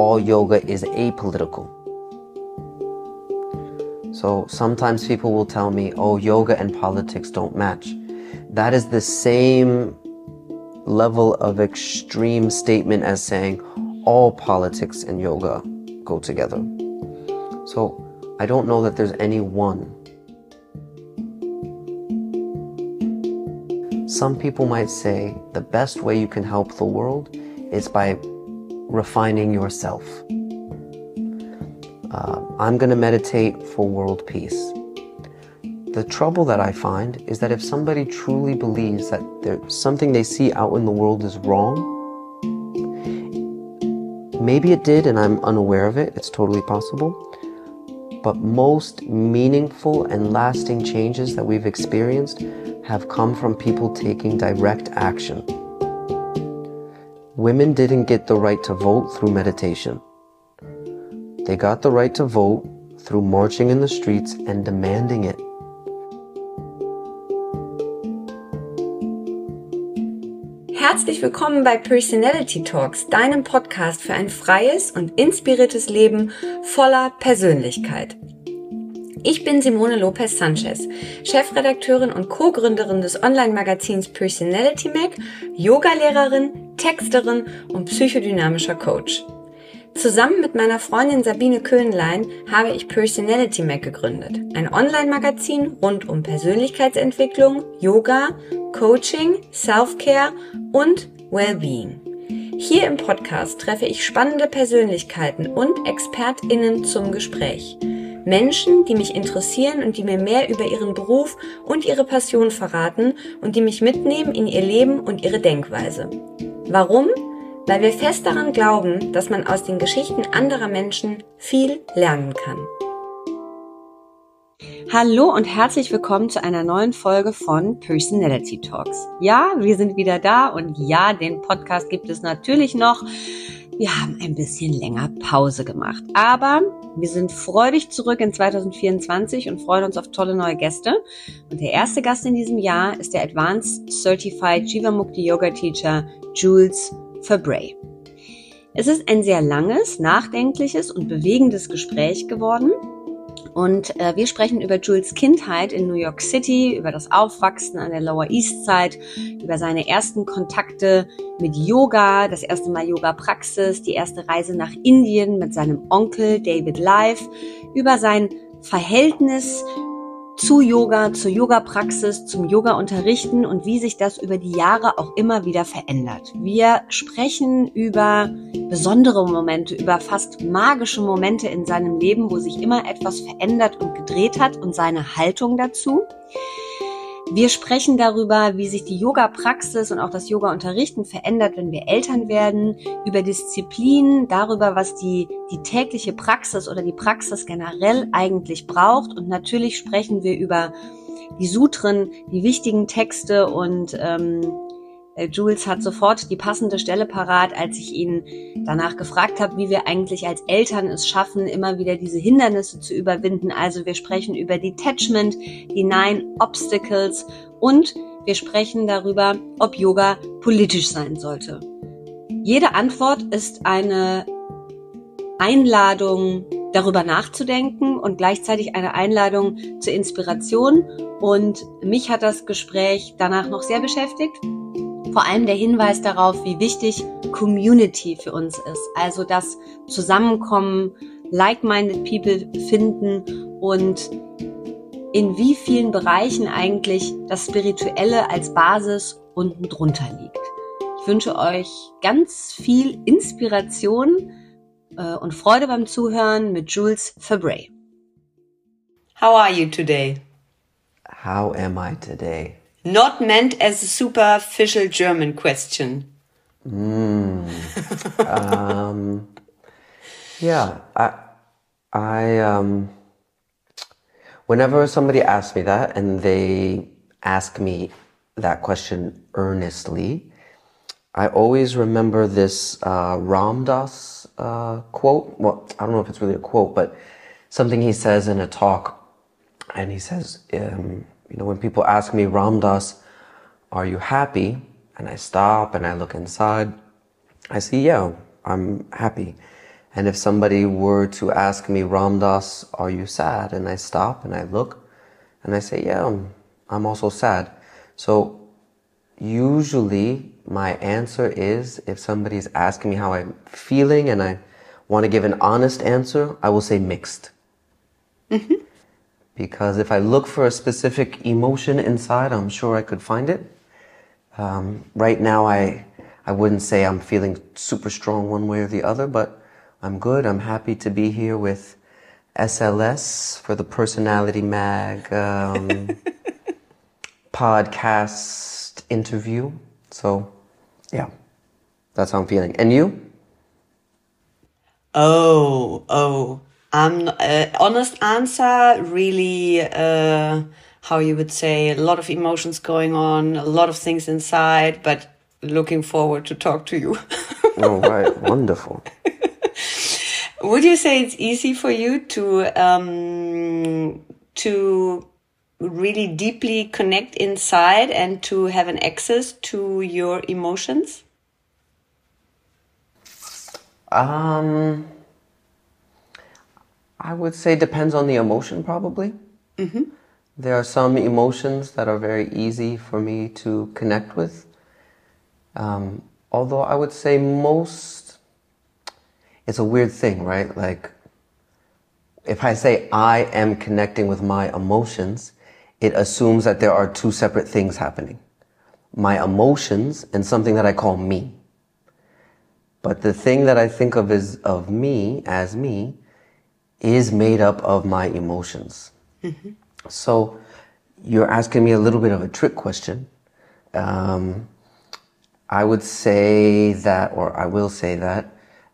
all yoga is apolitical. So sometimes people will tell me, oh, yoga and politics don't match. That is the same level of extreme statement as saying all politics and yoga go together. So I don't know that there's any one. Some people might say the best way you can help the world is by refining yourself. I'm going to meditate for world peace. The trouble that I find is that if somebody truly believes that there's something they see out in the world is wrong, maybe it did and I'm unaware of it, it's totally possible, but most meaningful and lasting changes that we've experienced have come from people taking direct action. Women didn't get the right to vote through meditation. They got the right to vote through marching in the streets and demanding it. Herzlich willkommen bei Personality Talks, deinem Podcast für ein freies und inspiriertes Leben voller Persönlichkeit. Ich bin Simone Lopez Sanchez, Chefredakteurin und Co-Gründerin des Online-Magazins Personality Mag, Yogalehrerin, Texterin und psychodynamischer Coach. Zusammen mit meiner Freundin Sabine Köhnlein habe ich Personality Mag gegründet, ein Online-Magazin rund um Persönlichkeitsentwicklung, Yoga, Coaching, Self-Care und Wellbeing. Hier im Podcast treffe ich spannende Persönlichkeiten und ExpertInnen zum Gespräch. Menschen, die mich interessieren und die mir mehr über ihren Beruf und ihre Passion verraten und die mich mitnehmen in ihr Leben und ihre Denkweise. Warum? Weil wir fest daran glauben, dass man aus den Geschichten anderer Menschen viel lernen kann. Hallo und herzlich willkommen zu einer neuen Folge von Personality Talks. Ja, wir sind wieder da und ja, den Podcast gibt es natürlich noch. Wir haben ein bisschen länger Pause gemacht, aber wir sind freudig zurück in 2024 und freuen uns auf tolle neue Gäste. Und der erste Gast in diesem Jahr ist der Advanced Certified Jivamukti Yoga Teacher Jules Fabray. Es ist ein sehr langes, nachdenkliches und bewegendes Gespräch geworden. Und wir sprechen über Jules Kindheit in New York City, über das Aufwachsen an der Lower East Side, über seine ersten Kontakte mit Yoga, das erste Mal Yoga-Praxis, die erste Reise nach Indien mit seinem Onkel David Life, über sein Verhältnis zu Yoga, zur Yoga-Praxis, zum Yoga-Unterrichten und wie sich das über die Jahre auch immer wieder verändert. Wir sprechen über besondere Momente, über fast magische Momente in seinem Leben, wo sich immer etwas verändert und gedreht hat und seine Haltung dazu. Wir sprechen darüber, wie sich die Yoga-Praxis und auch das Yoga-Unterrichten verändert, wenn wir Eltern werden, über Disziplin, darüber, was die tägliche Praxis oder die Praxis generell eigentlich braucht. Und natürlich sprechen wir über die Sutren, die wichtigen Texte und Jules hat sofort die passende Stelle parat, als ich ihn danach gefragt habe, wie wir eigentlich als Eltern es schaffen, immer wieder diese Hindernisse zu überwinden. Also wir sprechen über Detachment, die 9 Obstacles und wir sprechen darüber, ob Yoga politisch sein sollte. Jede Antwort ist eine Einladung, darüber nachzudenken und gleichzeitig eine Einladung zur Inspiration. Und mich hat das Gespräch danach noch sehr beschäftigt. Vor allem der Hinweis darauf, wie wichtig Community für uns ist. Also das Zusammenkommen, like-minded people finden und in wie vielen Bereichen eigentlich das Spirituelle als Basis unten drunter liegt. Ich wünsche euch ganz viel Inspiration und Freude beim Zuhören mit Jules Fabray. How are you today? How am I today? Not meant as a superficial German question. Yeah, whenever somebody asks me that and they ask me that question earnestly, I always remember this Ram Dass quote. Well, I don't know if it's really a quote, but something he says in a talk. And he says, when people ask me, Ram Dass, are you happy? And I stop and I look inside. I say, yeah, I'm happy. And if somebody were to ask me, Ram Dass, are you sad? And I stop and I look and I say, yeah, I'm also sad. So usually my answer is, if somebody's asking me how I'm feeling and I want to give an honest answer, I will say mixed. Mm-hmm. Because if I look for a specific emotion inside, I'm sure I could find it. Right now, I wouldn't say I'm feeling super strong one way or the other, but I'm good. I'm happy to be here with SLS for the Personality Mag podcast interview. So, yeah, that's how I'm feeling. And you? Honest answer, really, how you would say, a lot of emotions going on, a lot of things inside, but looking forward to talk to you. All right, wonderful. Would you say it's easy for you to really deeply connect inside and to have an access to your emotions? I would say depends on the emotion, probably. Mm-hmm. There are some emotions that are very easy for me to connect with. Although I would say it's a weird thing, right? Like, if I say I am connecting with my emotions, it assumes that there are two separate things happening. My emotions and something that I call me. But the thing that I think of of me as me is made up of my emotions. Mm-hmm. So you're asking me a little bit of a trick question. I would say that, or I will say that,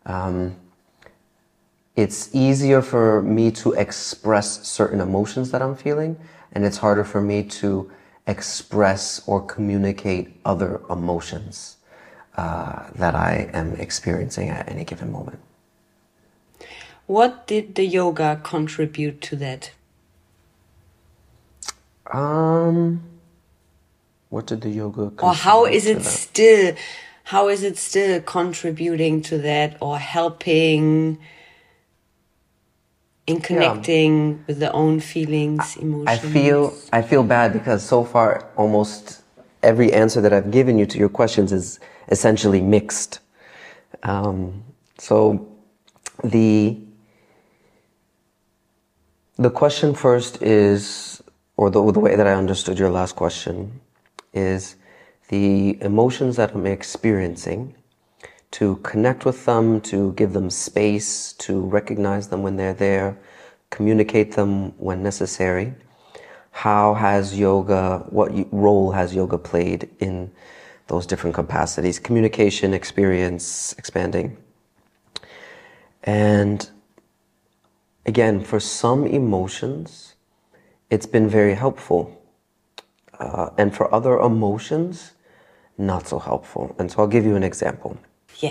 it's easier for me to express certain emotions that I'm feeling, and it's harder for me to express or communicate other emotions that I am experiencing at any given moment. What did the yoga contribute to that? What did the yoga contribute or how is it that? still contributing to that or helping in connecting with the own feelings, emotions? I feel bad because so far almost every answer that I've given you to your questions is essentially mixed. So the question first is, or the way that I understood your last question is the emotions that I'm experiencing, to connect with them, to give them space, to recognize them when they're there, communicate them when necessary. What role has yoga played in those different capacities? Communication, experience, expanding. And again, for some emotions, it's been very helpful. And for other emotions, not so helpful. And so I'll give you an example. Yeah.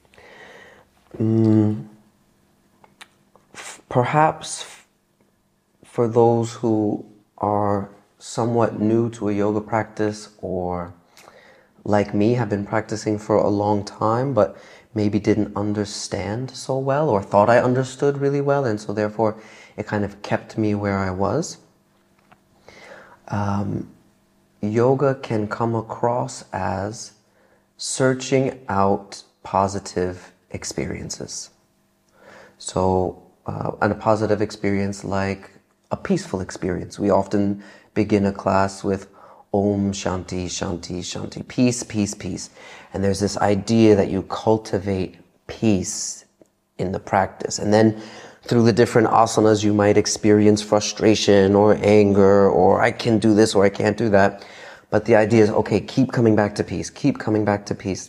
Perhaps for those who are somewhat new to a yoga practice, or like me, have been practicing for a long time, but maybe didn't understand so well, or thought I understood really well, and so therefore it kind of kept me where I was. Yoga can come across as searching out positive experiences. So, and a positive experience like a peaceful experience. We often begin a class with Om Shanti, Shanti, Shanti. Peace, peace, peace. And there's this idea that you cultivate peace in the practice. And then through the different asanas, you might experience frustration or anger, or I can do this or I can't do that. But the idea is, okay, keep coming back to peace, keep coming back to peace.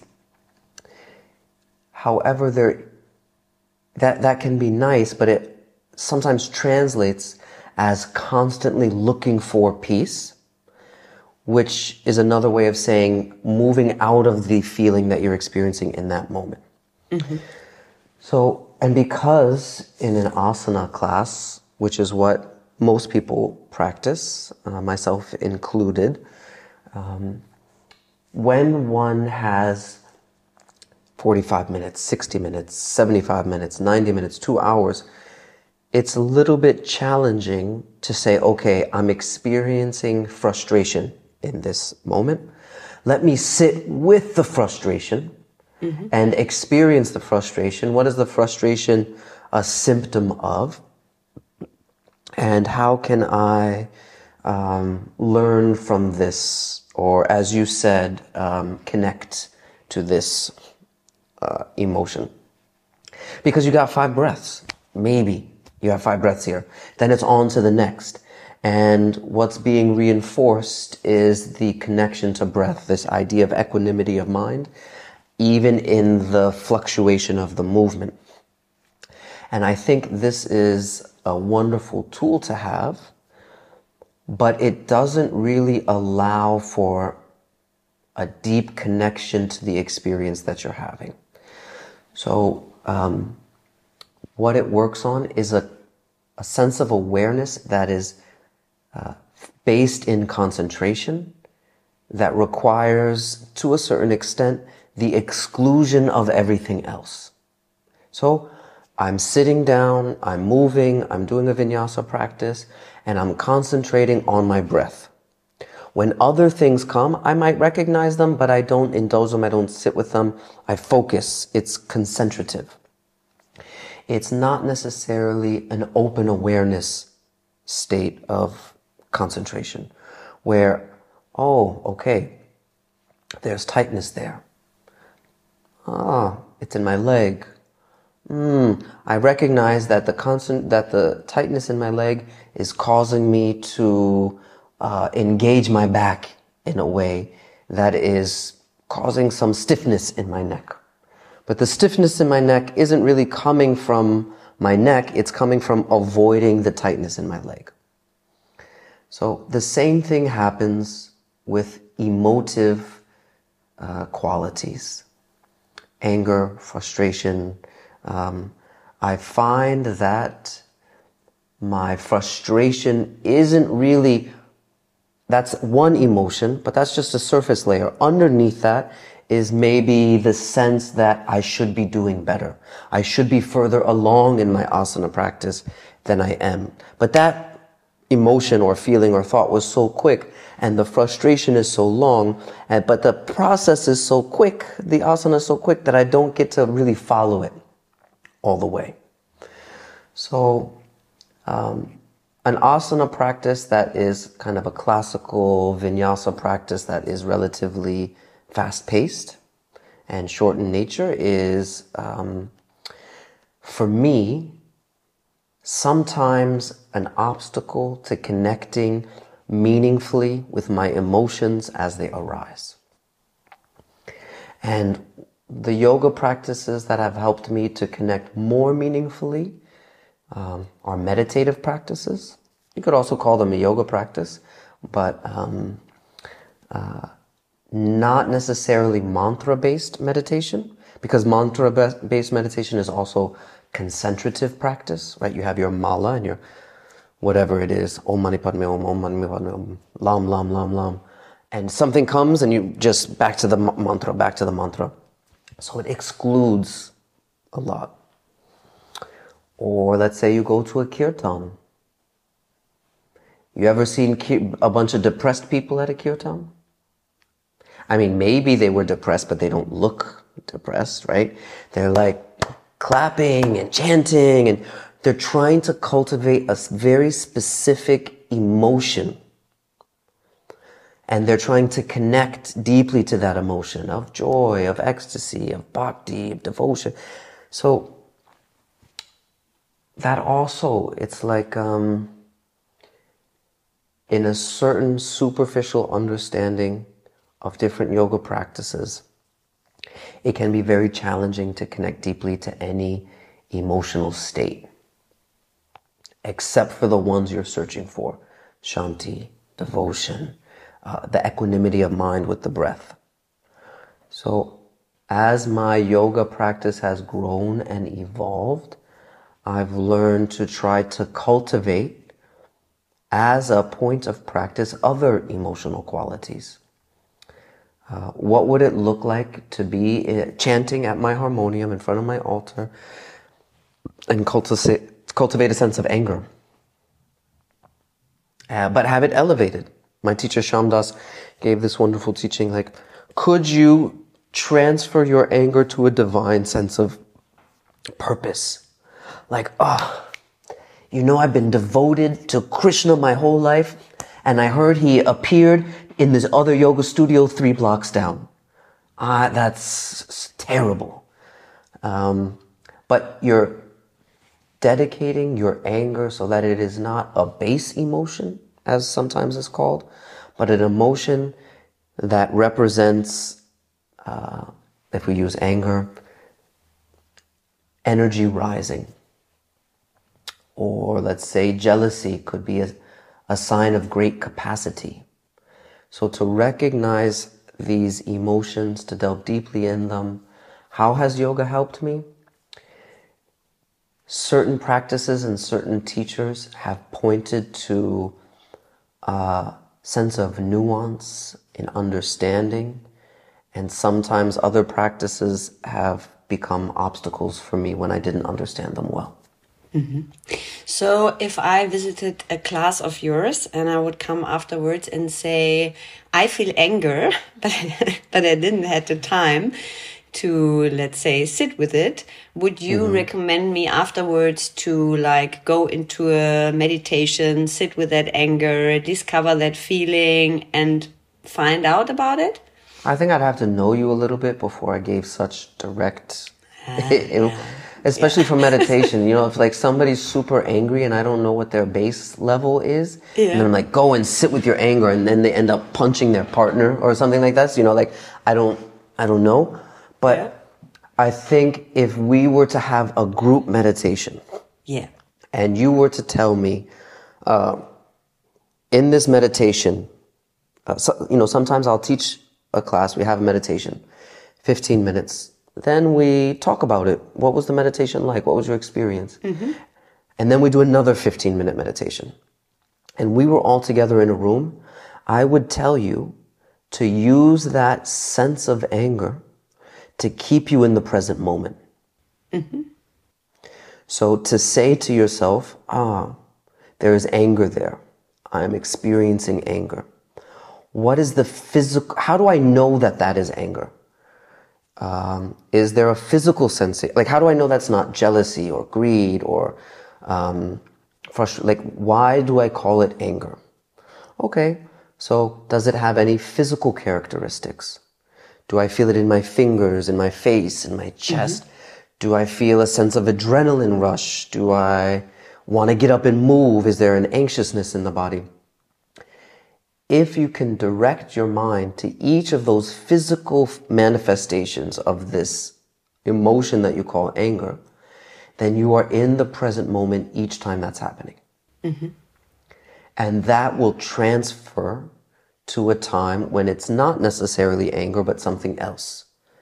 However, that can be nice, but it sometimes translates as constantly looking for peace, which is another way of saying moving out of the feeling that you're experiencing in that moment. Mm-hmm. So, and because in an asana class, which is what most people practice, myself included, when one has 45 minutes, 60 minutes, 75 minutes, 90 minutes, 2 hours, it's a little bit challenging to say, okay, I'm experiencing frustration in this moment. Let me sit with the frustration and experience the frustration. What is the frustration a symptom of? And how can I learn from this, or as you said, connect to this emotion? Because you got 5 breaths, maybe. You have 5 breaths here. Then it's on to the next. And what's being reinforced is the connection to breath, this idea of equanimity of mind, even in the fluctuation of the movement. And I think this is a wonderful tool to have, but it doesn't really allow for a deep connection to the experience that you're having. So, what it works on is a sense of awareness that is based in concentration, that requires, to a certain extent, the exclusion of everything else. So I'm sitting down, I'm moving, I'm doing a vinyasa practice, and I'm concentrating on my breath. When other things come, I might recognize them, but I don't indulge them, I don't sit with them, I focus. It's concentrative. It's not necessarily an open awareness state of concentration where, oh, okay, there's tightness there. Ah, it's in my leg. I recognize that the tightness in my leg is causing me to engage my back in a way that is causing some stiffness in my neck. But the stiffness in my neck isn't really coming from my neck, it's coming from avoiding the tightness in my leg. So the same thing happens with emotive qualities. Anger, frustration. I find that my frustration isn't really, that's one emotion, but that's just a surface layer. Underneath that is maybe the sense that I should be doing better. I should be further along in my asana practice than I am. But that emotion or feeling or thought was so quick, and the frustration is so long, but the process is so quick, the asana is so quick that I don't get to really follow it all the way. So an asana practice that is kind of a classical vinyasa practice that is relatively fast-paced and short in nature is, for me, sometimes an obstacle to connecting meaningfully with my emotions as they arise. And the yoga practices that have helped me to connect more meaningfully are meditative practices. You could also call them a yoga practice, but not necessarily mantra-based meditation, because mantra-based meditation is also concentrative practice, right? You have your mala and your whatever it is, Om Mani Padme Om, Om Mani Padme Om, Lam, Lam, Lam, Lam. And something comes and you just back to the mantra, back to the mantra. So it excludes a lot. Or let's say you go to a kirtan. You ever seen a bunch of depressed people at a kirtan? I mean, maybe they were depressed, but they don't look depressed, right? They're like clapping and chanting, and they're trying to cultivate a very specific emotion. And they're trying to connect deeply to that emotion of joy, of ecstasy, of bhakti, of devotion. So that also, it's like in a certain superficial understanding of different yoga practices, it can be very challenging to connect deeply to any emotional state, except for the ones you're searching for: shanti, devotion, the equanimity of mind with the breath. So as my yoga practice has grown and evolved, I've learned to try to cultivate, as a point of practice, other emotional qualities. What would it look like to be chanting at my harmonium in front of my altar and cultivate a sense of anger? But have it elevated. My teacher Shyam Das gave this wonderful teaching, like, could you transfer your anger to a divine sense of purpose? Like, I've been devoted to Krishna my whole life, and I heard he appeared in this other yoga studio 3 blocks down. That's terrible. But you're dedicating your anger so that it is not a base emotion, as sometimes it's called, but an emotion that represents, if we use anger, energy rising. Or let's say jealousy could be a sign of great capacity. So to recognize these emotions, to delve deeply in them, how has yoga helped me? Certain practices and certain teachers have pointed to a sense of nuance in understanding, and sometimes other practices have become obstacles for me when I didn't understand them well. Mm-hmm. So if I visited a class of yours and I would come afterwards and say, I feel anger, but I didn't have the time to, let's say, sit with it, would you recommend me afterwards to like go into a meditation, sit with that anger, discover that feeling and find out about it? I think I'd have to know you a little bit before I gave such direct, especially for meditation. If like somebody's super angry and I don't know what their base level is, and then I'm like, go and sit with your anger, and then they end up punching their partner or something like that. So, like I don't know. But I think if we were to have a group meditation, and you were to tell me, in this meditation, sometimes I'll teach a class, we have a meditation, 15 minutes. Then we talk about it. What was the meditation like? What was your experience? Mm-hmm. And then we do another 15-minute meditation. And we were all together in a room. I would tell you to use that sense of anger to keep you in the present moment. Mm-hmm. So to say to yourself, there is anger there. I'm experiencing anger. What is the physical, how do I know that is anger? Is there a physical sensation? Like, how do I know that's not jealousy or greed or frustration? Like, why do I call it anger? Okay, so does it have any physical characteristics? Do I feel it in my fingers, in my face, in my chest? Mm-hmm. Do I feel a sense of adrenaline rush? Do I want to get up and move? Is there an anxiousness in the body? If you can direct your mind to each of those physical manifestations of this emotion that you call anger, then you are in the present moment each time that's happening. Mm-hmm. And that will transfer to a time when it's not necessarily anger, but something else.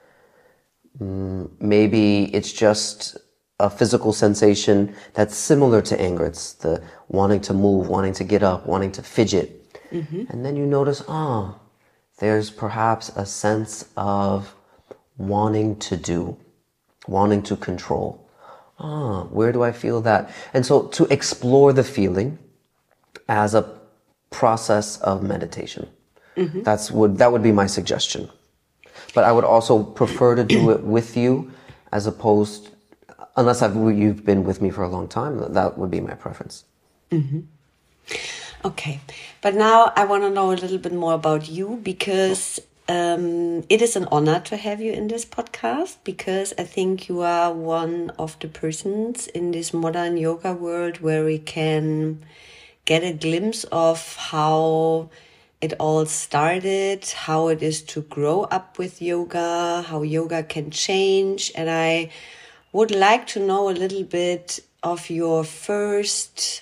Maybe it's just a physical sensation that's similar to anger. It's the wanting to move, wanting to get up, wanting to fidget. Mm-hmm. And then you notice, there's perhaps a sense of wanting to do, wanting to control. Where do I feel that? And so to explore the feeling as a process of meditation. Mm-hmm. That would be my suggestion. But I would also prefer to do it with you as opposed, unless you've been with me for a long time, that would be my preference. Mm-hmm. Okay, but now I want to know a little bit more about you because it is an honor to have you in this podcast because I think you are one of the persons in this modern yoga world where we can get a glimpse of how it all started, how it is to grow up with yoga, how yoga can change. And I would like to know a little bit of your first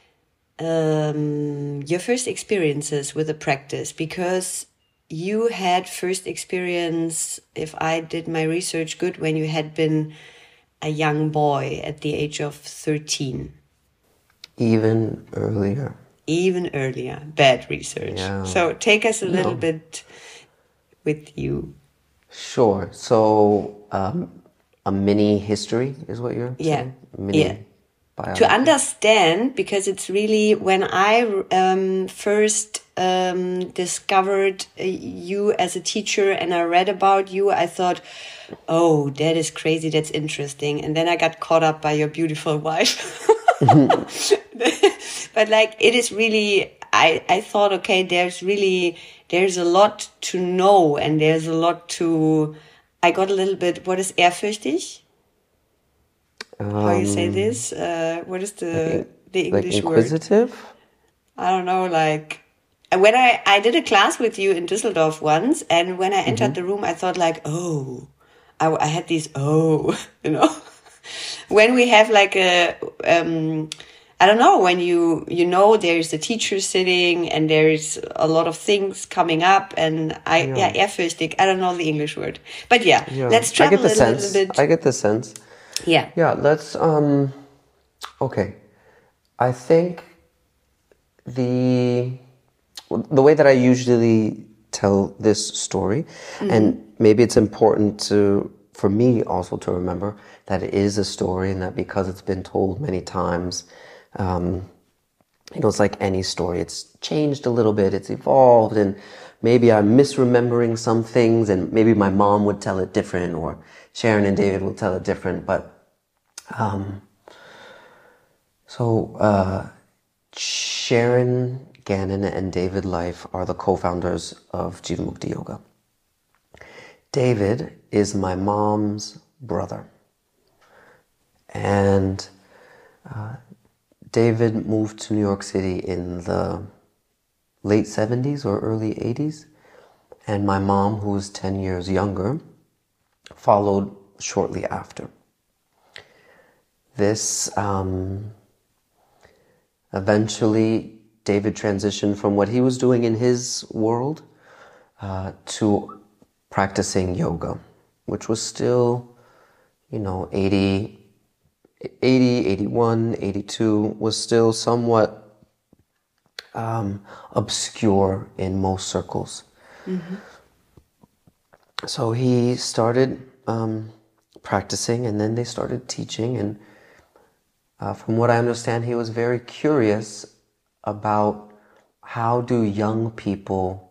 experiences with the practice, because you had first experience, if I did my research good, when you had been a young boy at the age of 13. Even earlier. Bad research. Yeah. So take us a little bit with you. Sure. So, a mini history is what you're saying? Mini biography. To understand, because it's really when I first discovered you as a teacher and I read about you, I thought, oh, that is crazy, that's interesting. And then I got caught up by your beautiful wife. But like, it is really, I thought, okay, there's a lot to know and there's a lot to, I got a little bit, what is ehrfürchtig? How you say this? What is the English like inquisitive? word? I don't know, like, when I did a class with you in Düsseldorf once, and when I entered the room, I thought like, oh, I had these, when we have like a, I don't know, when you know, there's a teacher sitting and there's a lot of things coming up and ehrfürchtig, I don't know the English word. But let's travel a little bit. I get the sense. Yeah. Yeah, let's, okay. I think the way that I usually tell this story, and maybe it's important for me also to remember that it is a story and that because it's been told many times, it's like any story. It's changed a little bit, it's evolved, and maybe I'm misremembering some things, and maybe my mom would tell it different, or Sharon and David will tell it different, but Sharon Gannon and David Life are the co-founders of Jivamukti Yoga. David is my mom's brother. And David moved to New York City in the late 70s or early 80s. And my mom, who was 10 years younger, followed shortly after. This, eventually, David transitioned from what he was doing in his world to practicing yoga, which was still, 80, 81, 82, was still somewhat obscure in most circles. Mm-hmm. So he started practicing, and then they started teaching, and from what I understand, he was very curious about how do young people,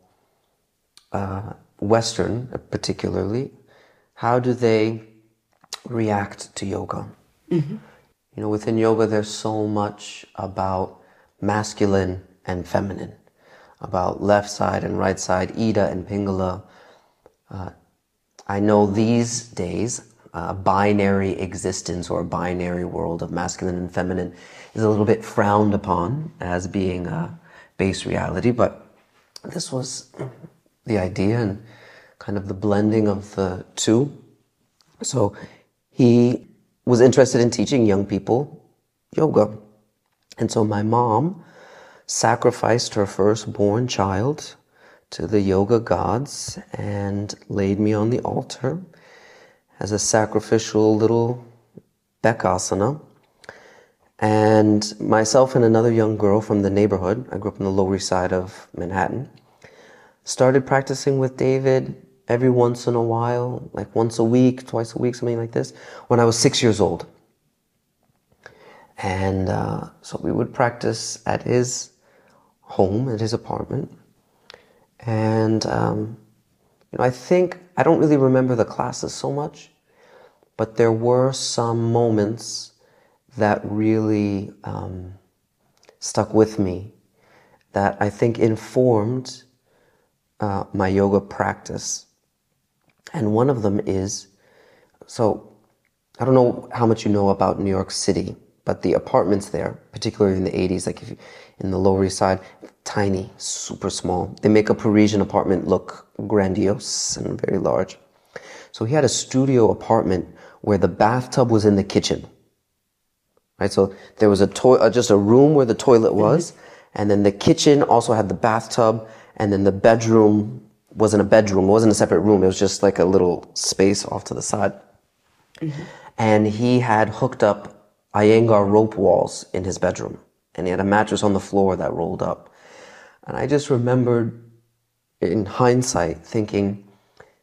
Western particularly, how do they react to yoga? Mm-hmm. Within yoga, there's so much about masculine and feminine, about left side and right side, Ida and Pingala. I know these days, binary existence or a binary world of masculine and feminine is a little bit frowned upon as being a base reality, but this was the idea and kind of the blending of the two. So he was interested in teaching young people yoga. And so my mom sacrificed her firstborn child to the yoga gods and laid me on the altar as a sacrificial little Bekasana. And myself and another young girl from the neighborhood, I grew up on the Lower East Side of Manhattan, started practicing with David every once in a while, like once a week, twice a week, something like this, when I was 6 years old. And so we would practice at his home, at his apartment. And I think, I don't really remember the classes so much, but there were some moments that really stuck with me that I think informed my yoga practice. And one of them is, so I don't know how much you know about New York City, but the apartments there, particularly in the 80s, like if you, in the Lower East Side, tiny, super small. They make a Parisian apartment look grandiose and very large. So he had a studio apartment where the bathtub was in the kitchen. Right, so there was just a room where the toilet was, and then the kitchen also had the bathtub, and then the bedroom wasn't a bedroom, it wasn't a separate room, it was just like a little space off to the side. Mm-hmm. And he had hooked up Iyengar rope walls in his bedroom, and he had a mattress on the floor that rolled up. And I just remembered, in hindsight, thinking,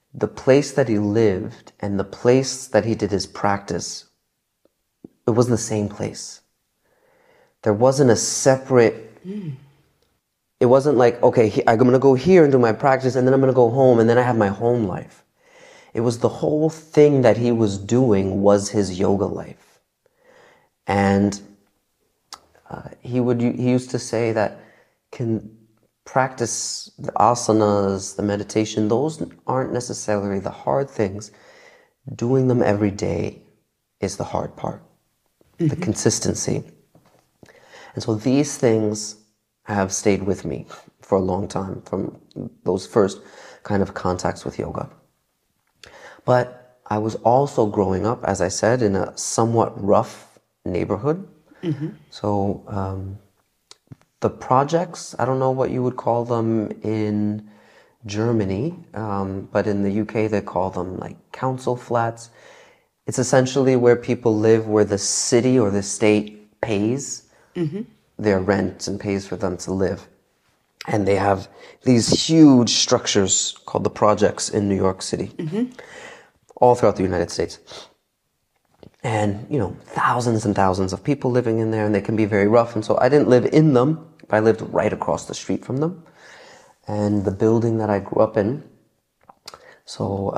the place that he lived and the place that he did his practice, it wasn't the same place. There wasn't a separate, it wasn't like, okay, I'm going to go here and do my practice and then I'm going to go home and then I have my home life. It was the whole thing that he was doing was his yoga life. And he used to say that can practice the asanas, the meditation, those aren't necessarily the hard things. Doing them every day is the hard part, the consistency. And so these things have stayed with me for a long time from those first kind of contacts with yoga. But I was also growing up, as I said, in a somewhat rough neighborhood. So the projects, I don't know what you would call them in Germany, but in the UK they call them like council flats. It's essentially where people live where the city or the state pays their rent and pays for them to live. And they have these huge structures called the projects in New York City, all throughout the United States. And, you know, thousands and thousands of people living in there, and they can be very rough. And so I didn't live in them, but I lived right across the street from them. And the building that I grew up in, so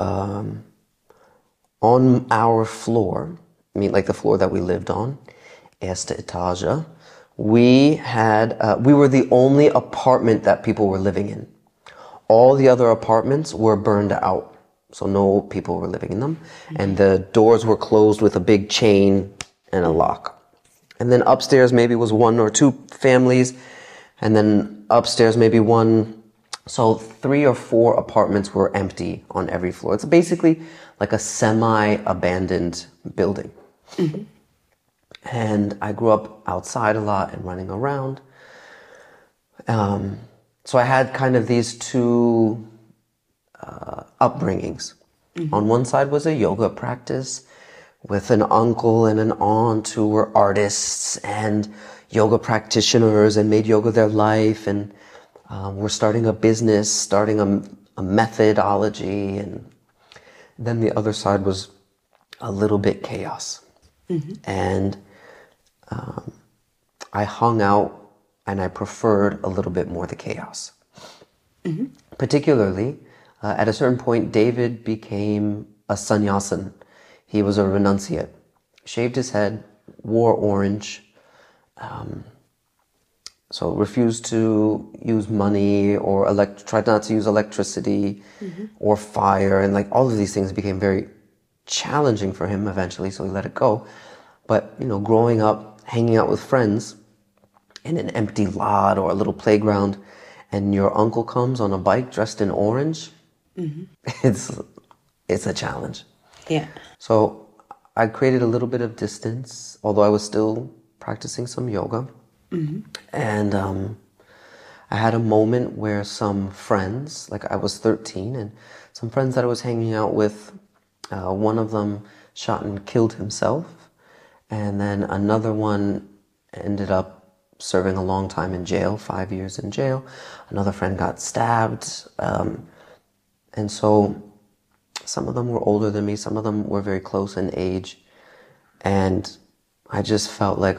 on our floor, I mean, like the floor that we lived on, erste Etage, we were the only apartment that people were living in. All the other apartments were burned out. So no people were living in them. And the doors were closed with a big chain and a lock. And then upstairs maybe was one or two families. And then upstairs maybe one. So 3 or 4 apartments were empty on every floor. It's basically like a semi-abandoned building. And I grew up outside a lot and running around. So I had kind of these two upbringings. On one side was a yoga practice with an uncle and an aunt who were artists and yoga practitioners and made yoga their life, and were starting a business, starting a methodology. And then the other side was a little bit chaos. And I hung out and I preferred a little bit more the chaos. Particularly, at a certain point, David became a sannyasin. He was a renunciate. Shaved his head, wore orange, so refused to use money or tried not to use electricity or fire. And like all of these things became very challenging for him eventually, so he let it go. But, you know, growing up, hanging out with friends in an empty lot or a little playground, and your uncle comes on a bike dressed in orange, it's a challenge. Yeah. So I created a little bit of distance, although I was still practicing some yoga. And I had a moment where some friends, like I was 13, and some friends that I was hanging out with, one of them shot and killed himself. And then another one ended up serving a long time in jail, 5 years in jail. Another friend got stabbed. And so some of them were older than me. Some of them were very close in age. And I just felt like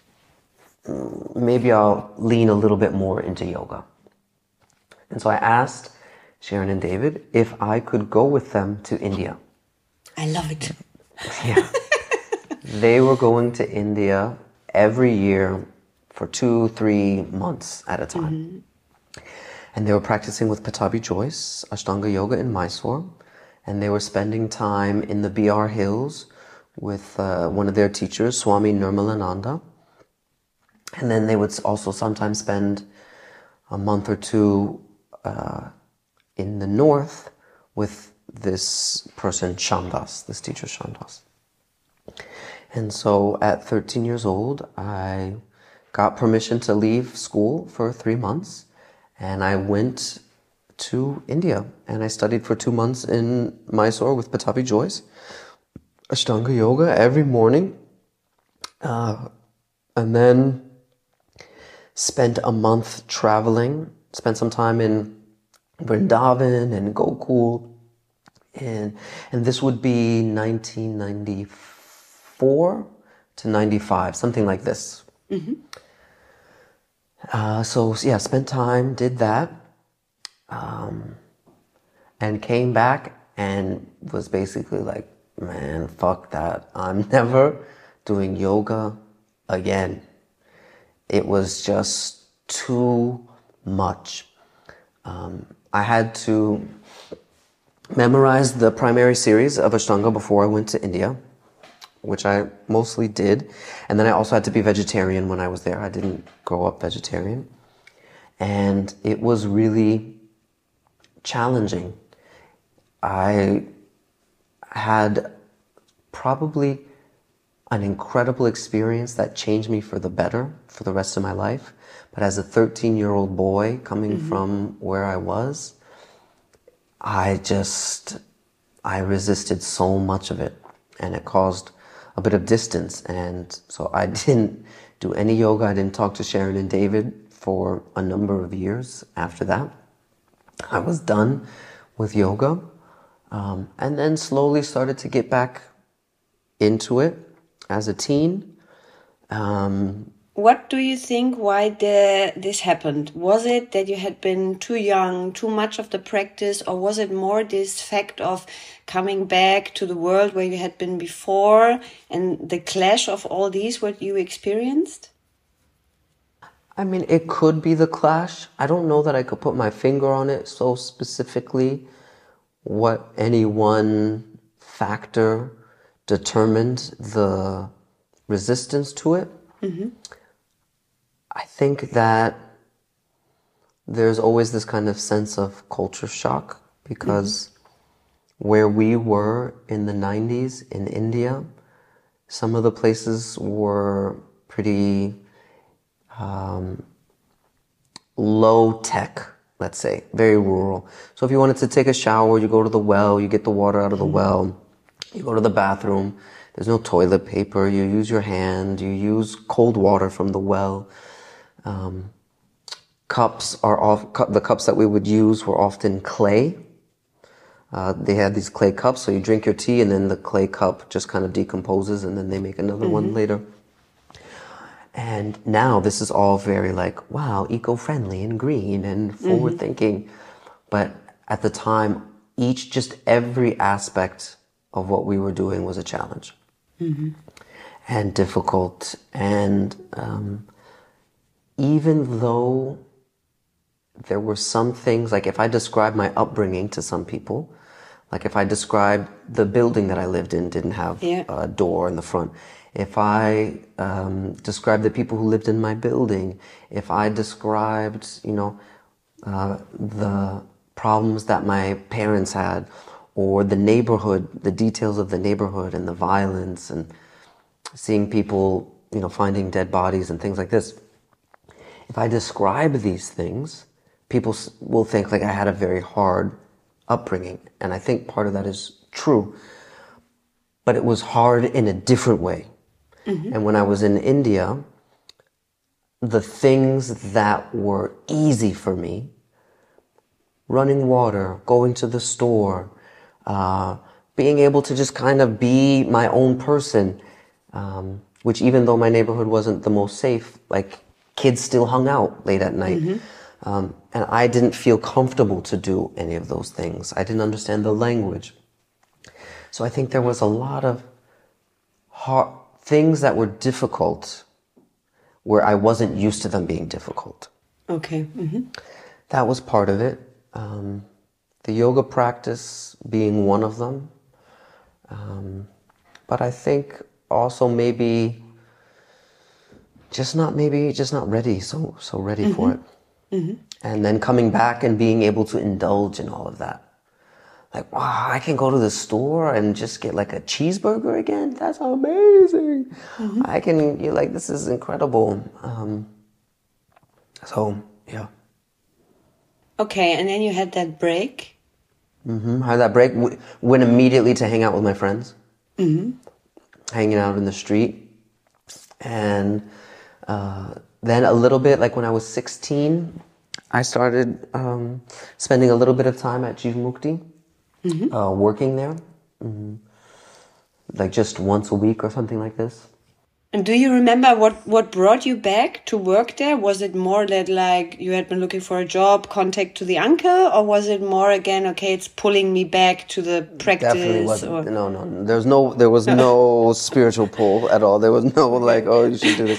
maybe I'll lean a little bit more into yoga. And so I asked Sharon and David if I could go with them to India. I love it. Yeah. They were going to India every year for 2-3 months at a time. And they were practicing with Pattabhi Jois, Ashtanga Yoga in Mysore. And they were spending time in the BR Hills with one of their teachers, Swami Nirmalananda. And then they would also sometimes spend a month or two in the north with this person, Shandas, this teacher, Shandas. And so at 13 years old, I got permission to leave school for 3 months. And I went to India. And I studied for 2 months in Mysore with Pattabhi Jois, Ashtanga Yoga every morning. And then spent a month traveling, spent some time in Vrindavan and Gokul, and this would be 1994 to 95, something like this. So yeah, spent time, did that, and came back and was basically like, man, fuck that. I'm never doing yoga again. It was just too much. I had to memorize the primary series of Ashtanga before I went to India, which I mostly did. And then I also had to be vegetarian when I was there. I didn't grow up vegetarian. And it was really challenging. I had probably an incredible experience that changed me for the better for the rest of my life. But as a 13-year-old boy coming from where I was, I resisted so much of it, and it caused a bit of distance. And so I didn't do any yoga. I didn't talk to Sharon and David for a number of years after that. I was done with yoga, and then slowly started to get back into it as a teen. What do you think why this happened? Was it that you had been too young, too much of the practice, or was it more this fact of coming back to the world where you had been before and the clash of all these, what you experienced? I mean, it could be the clash. I don't know that I could put my finger on it so specifically what any one factor determined the resistance to it. I think that there's always this kind of sense of culture shock because where we were in the 90s in India, some of the places were pretty low tech, let's say, very rural. So if you wanted to take a shower, you go to the well, you get the water out of the well, you go to the bathroom, there's no toilet paper, you use your hand, you use cold water from the well. The cups that we would use were often clay. They had these clay cups, so you drink your tea and then the clay cup just kind of decomposes and then they make another one later. And now this is all very like, wow, eco-friendly and green and forward-thinking. But at the time, every aspect of what we were doing was a challenge and difficult. And even though there were some things, like if I describe my upbringing to some people, like if I described the building that I lived in didn't have a door in the front, if I described the people who lived in my building, if I described, the problems that my parents had, or the neighborhood, the details of the neighborhood and the violence and seeing people, finding dead bodies and things like this. If I describe these things, people will think like I had a very hard upbringing. And I think part of that is true. But it was hard in a different way. And when I was in India, the things that were easy for me, running water, going to the store, being able to just kind of be my own person, which even though my neighborhood wasn't the most safe, like kids still hung out late at night. And I didn't feel comfortable to do any of those things. I didn't understand the language. So I think there was a lot of things that were difficult where I wasn't used to them being difficult. Okay. That was part of it. The yoga practice being one of them. But I think also maybe just not ready, so ready for it. And then coming back and being able to indulge in all of that. Like, wow, I can go to the store and just get like a cheeseburger again? That's amazing. This is incredible. Yeah. Okay, and then you had that break? I had that break, went immediately to hang out with my friends. Hanging out in the street. And then a little bit, like when I was 16, I started spending a little bit of time at Jivamukti. working there, like just once a week or something like this. And do you remember what brought you back to work there? Was it more that like you had been looking for a job, contact to the uncle, or was it more again, okay, it's pulling me back to the practice? Definitely wasn't. No. There was no spiritual pull at all. There was no like, oh, you should do this.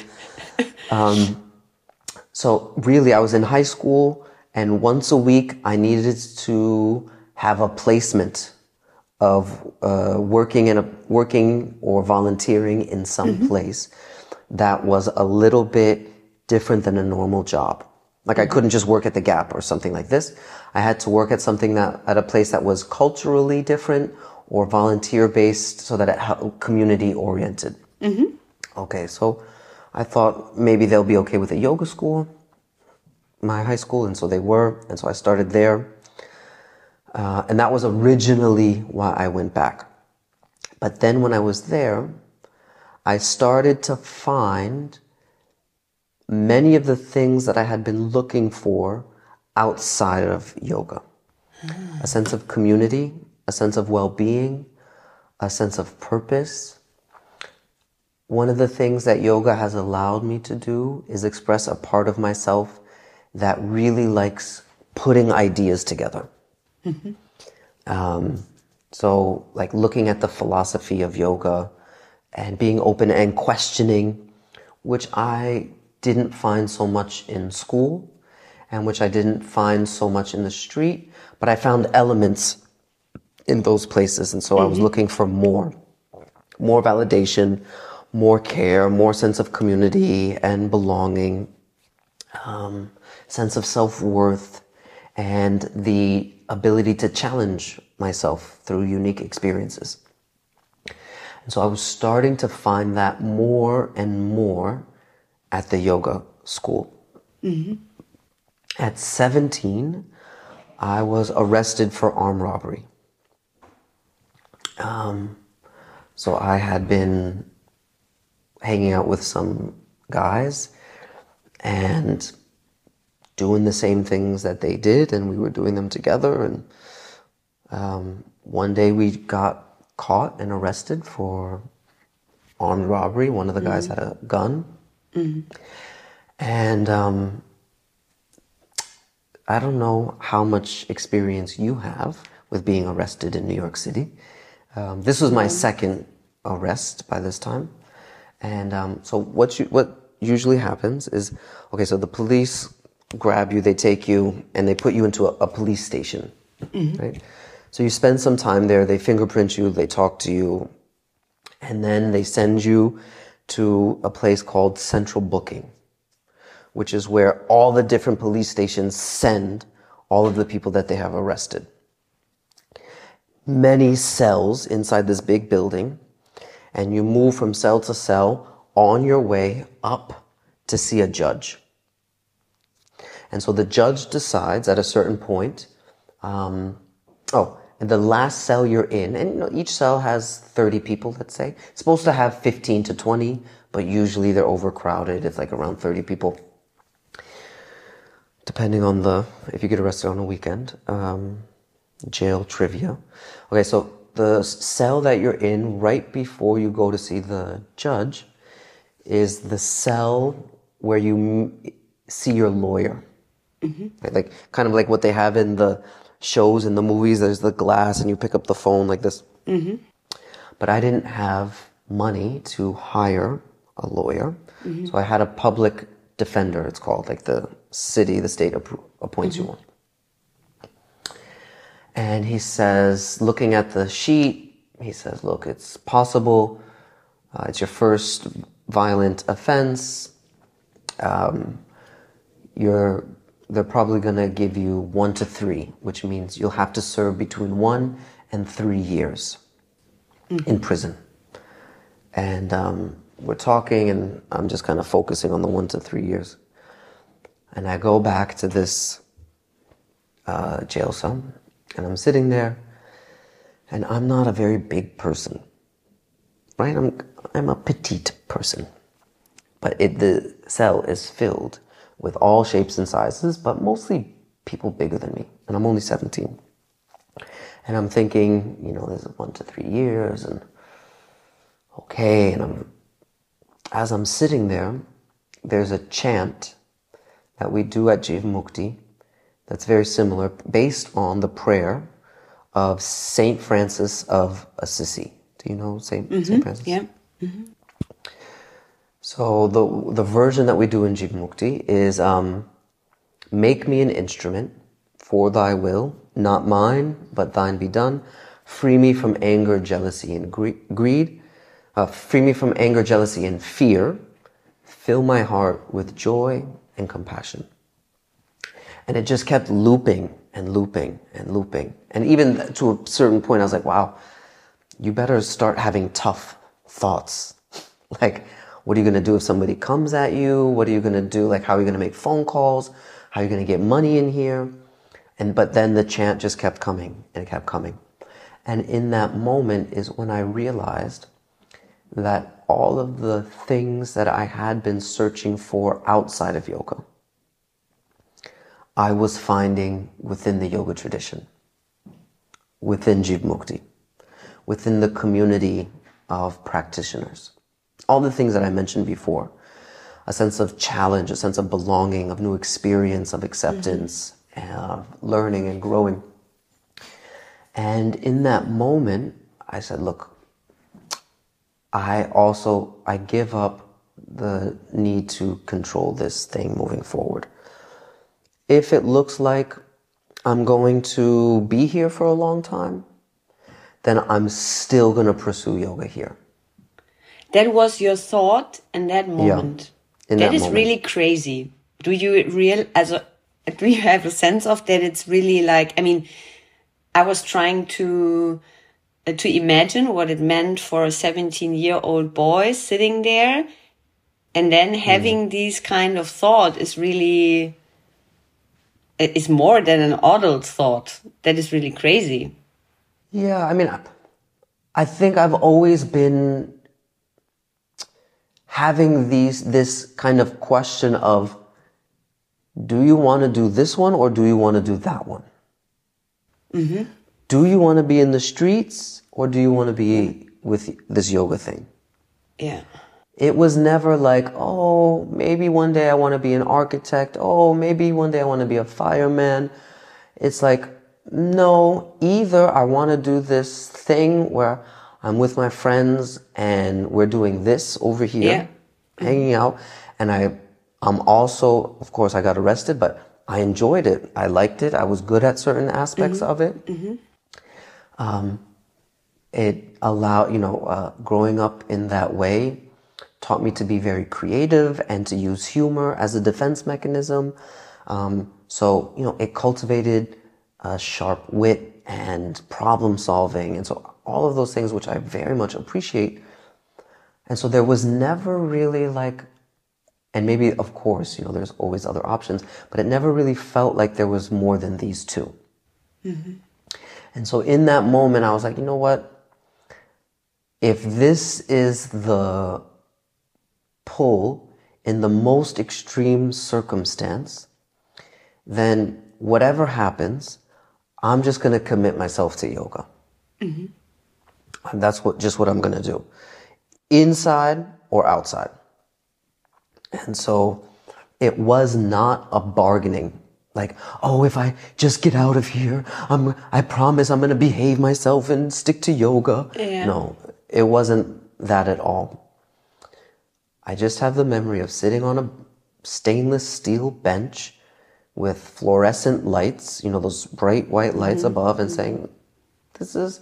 So really, I was in high school, and once a week, I needed to have a placement of working or volunteering in some place that was a little bit different than a normal job. Like I couldn't just work at the Gap or something like this. I had to work at at a place that was culturally different or volunteer based, so that it community oriented. Okay, so I thought maybe they'll be okay with a yoga school, my high school, and so they were, and so I started there. And that was originally why I went back. But then when I was there, I started to find many of the things that I had been looking for outside of yoga. A sense of community, a sense of well-being, a sense of purpose. One of the things that yoga has allowed me to do is express a part of myself that really likes putting ideas together. So like looking at the philosophy of yoga and being open and questioning, which I didn't find so much in school and which I didn't find so much in the street, but I found elements in those places. And so I was looking for more validation, more care, more sense of community and belonging, sense of self-worth, and the ability to challenge myself through unique experiences. And so I was starting to find that more and more at the yoga school. At 17, I was arrested for armed robbery. So I had been hanging out with some guys and doing the same things that they did, and we were doing them together. And one day we got caught and arrested for armed robbery. One of the guys had a gun. And I don't know how much experience you have with being arrested in New York City. This was my second arrest by this time. And so what usually happens is, okay, so the police grab you, they take you, and they put you into a police station, right? So you spend some time there, they fingerprint you, they talk to you, and then they send you to a place called Central Booking, which is where all the different police stations send all of the people that they have arrested. Many cells inside this big building, and you move from cell to cell on your way up to see a judge. And so the judge decides at a certain point, and the last cell you're in, and each cell has 30 people, let's say. It's supposed to have 15 to 20, but usually they're overcrowded. It's like around 30 people, depending on if you get arrested on a weekend. Jail trivia. Okay, so the cell that you're in right before you go to see the judge is the cell where you see your lawyer. Right? Like kind of like what they have in the shows and the movies. There's the glass and you pick up the phone like this. But I didn't have money to hire a lawyer. So I had a public defender, it's called, like the state appoints you one. And he says, looking at the sheet, he says, look, it's possible, it's your first violent offense, they're probably going to give you 1 to 3, which means you'll have to serve between 1 and 3 years in prison. And we're talking, and I'm just kind of focusing on the 1 to 3 years. And I go back to this jail cell, and I'm sitting there, and I'm not a very big person, right? I'm a petite person, but the cell is filled with all shapes and sizes, but mostly people bigger than me, and I'm only 17. And I'm thinking, this is 1 to 3 years, and okay. And as I'm sitting there, there's a chant that we do at Jivamukti that's very similar, based on the prayer of Saint Francis of Assisi. Do you know Saint Francis? Yeah. So the version that we do in Jivamukti is, make me an instrument for thy will, not mine, but thine be done. Free me from anger, jealousy, and greed. Free me from anger, jealousy, and fear. Fill my heart with joy and compassion. And it just kept looping and looping and looping. And even to a certain point, I was like, wow, you better start having tough thoughts. Like, what are you going to do if somebody comes at you? What are you going to do? Like, how are you going to make phone calls? How are you going to get money in here? But then the chant just kept coming, and it kept coming. And in that moment is when I realized that all of the things that I had been searching for outside of yoga, I was finding within the yoga tradition, within Jivamukti, within the community of practitioners. All the things that I mentioned before, a sense of challenge, a sense of belonging, of new experience, of acceptance, learning and growing. And in that moment, I said, look, I give up the need to control this thing moving forward. If it looks like I'm going to be here for a long time, then I'm still going to pursue yoga here. That was your thought in that moment. Yeah, that is really crazy. Do you have a sense of that? It's really like, I mean, I was trying to imagine what it meant for a 17-year-old boy sitting there, and then having these kind of thought is really, is more than an adult thought. That is really crazy. Yeah, I mean, I think I've always been having this kind of question of, do you want to do this one or do you want to do that one? Mm-hmm. Do you want to be in the streets or do you want to be with this yoga thing? Yeah. It was never like, oh, maybe one day I want to be an architect. Oh, maybe one day I want to be a fireman. It's like, no, either I want to do this thing where I'm with my friends and we're doing this over here, hanging out. And I'm also, of course, I got arrested, but I enjoyed it. I liked it. I was good at certain aspects of it. It allowed, growing up in that way taught me to be very creative and to use humor as a defense mechanism. So, it cultivated sharp wit and problem solving. And so all of those things, which I very much appreciate. And so there was never really like, and maybe, of course, there's always other options, but it never really felt like there was more than these two. Mm-hmm. And so in that moment, I was like, you know what? If this is the pull in the most extreme circumstance, then whatever happens, I'm just going to commit myself to yoga. Mm-hmm. And that's what I'm going to do. Inside or outside. And so it was not a bargaining. Like, oh, if I just get out of here, I promise I'm going to behave myself and stick to yoga. Yeah. No, it wasn't that at all. I just have the memory of sitting on a stainless steel bench with fluorescent lights, those bright white lights above, and saying, this is,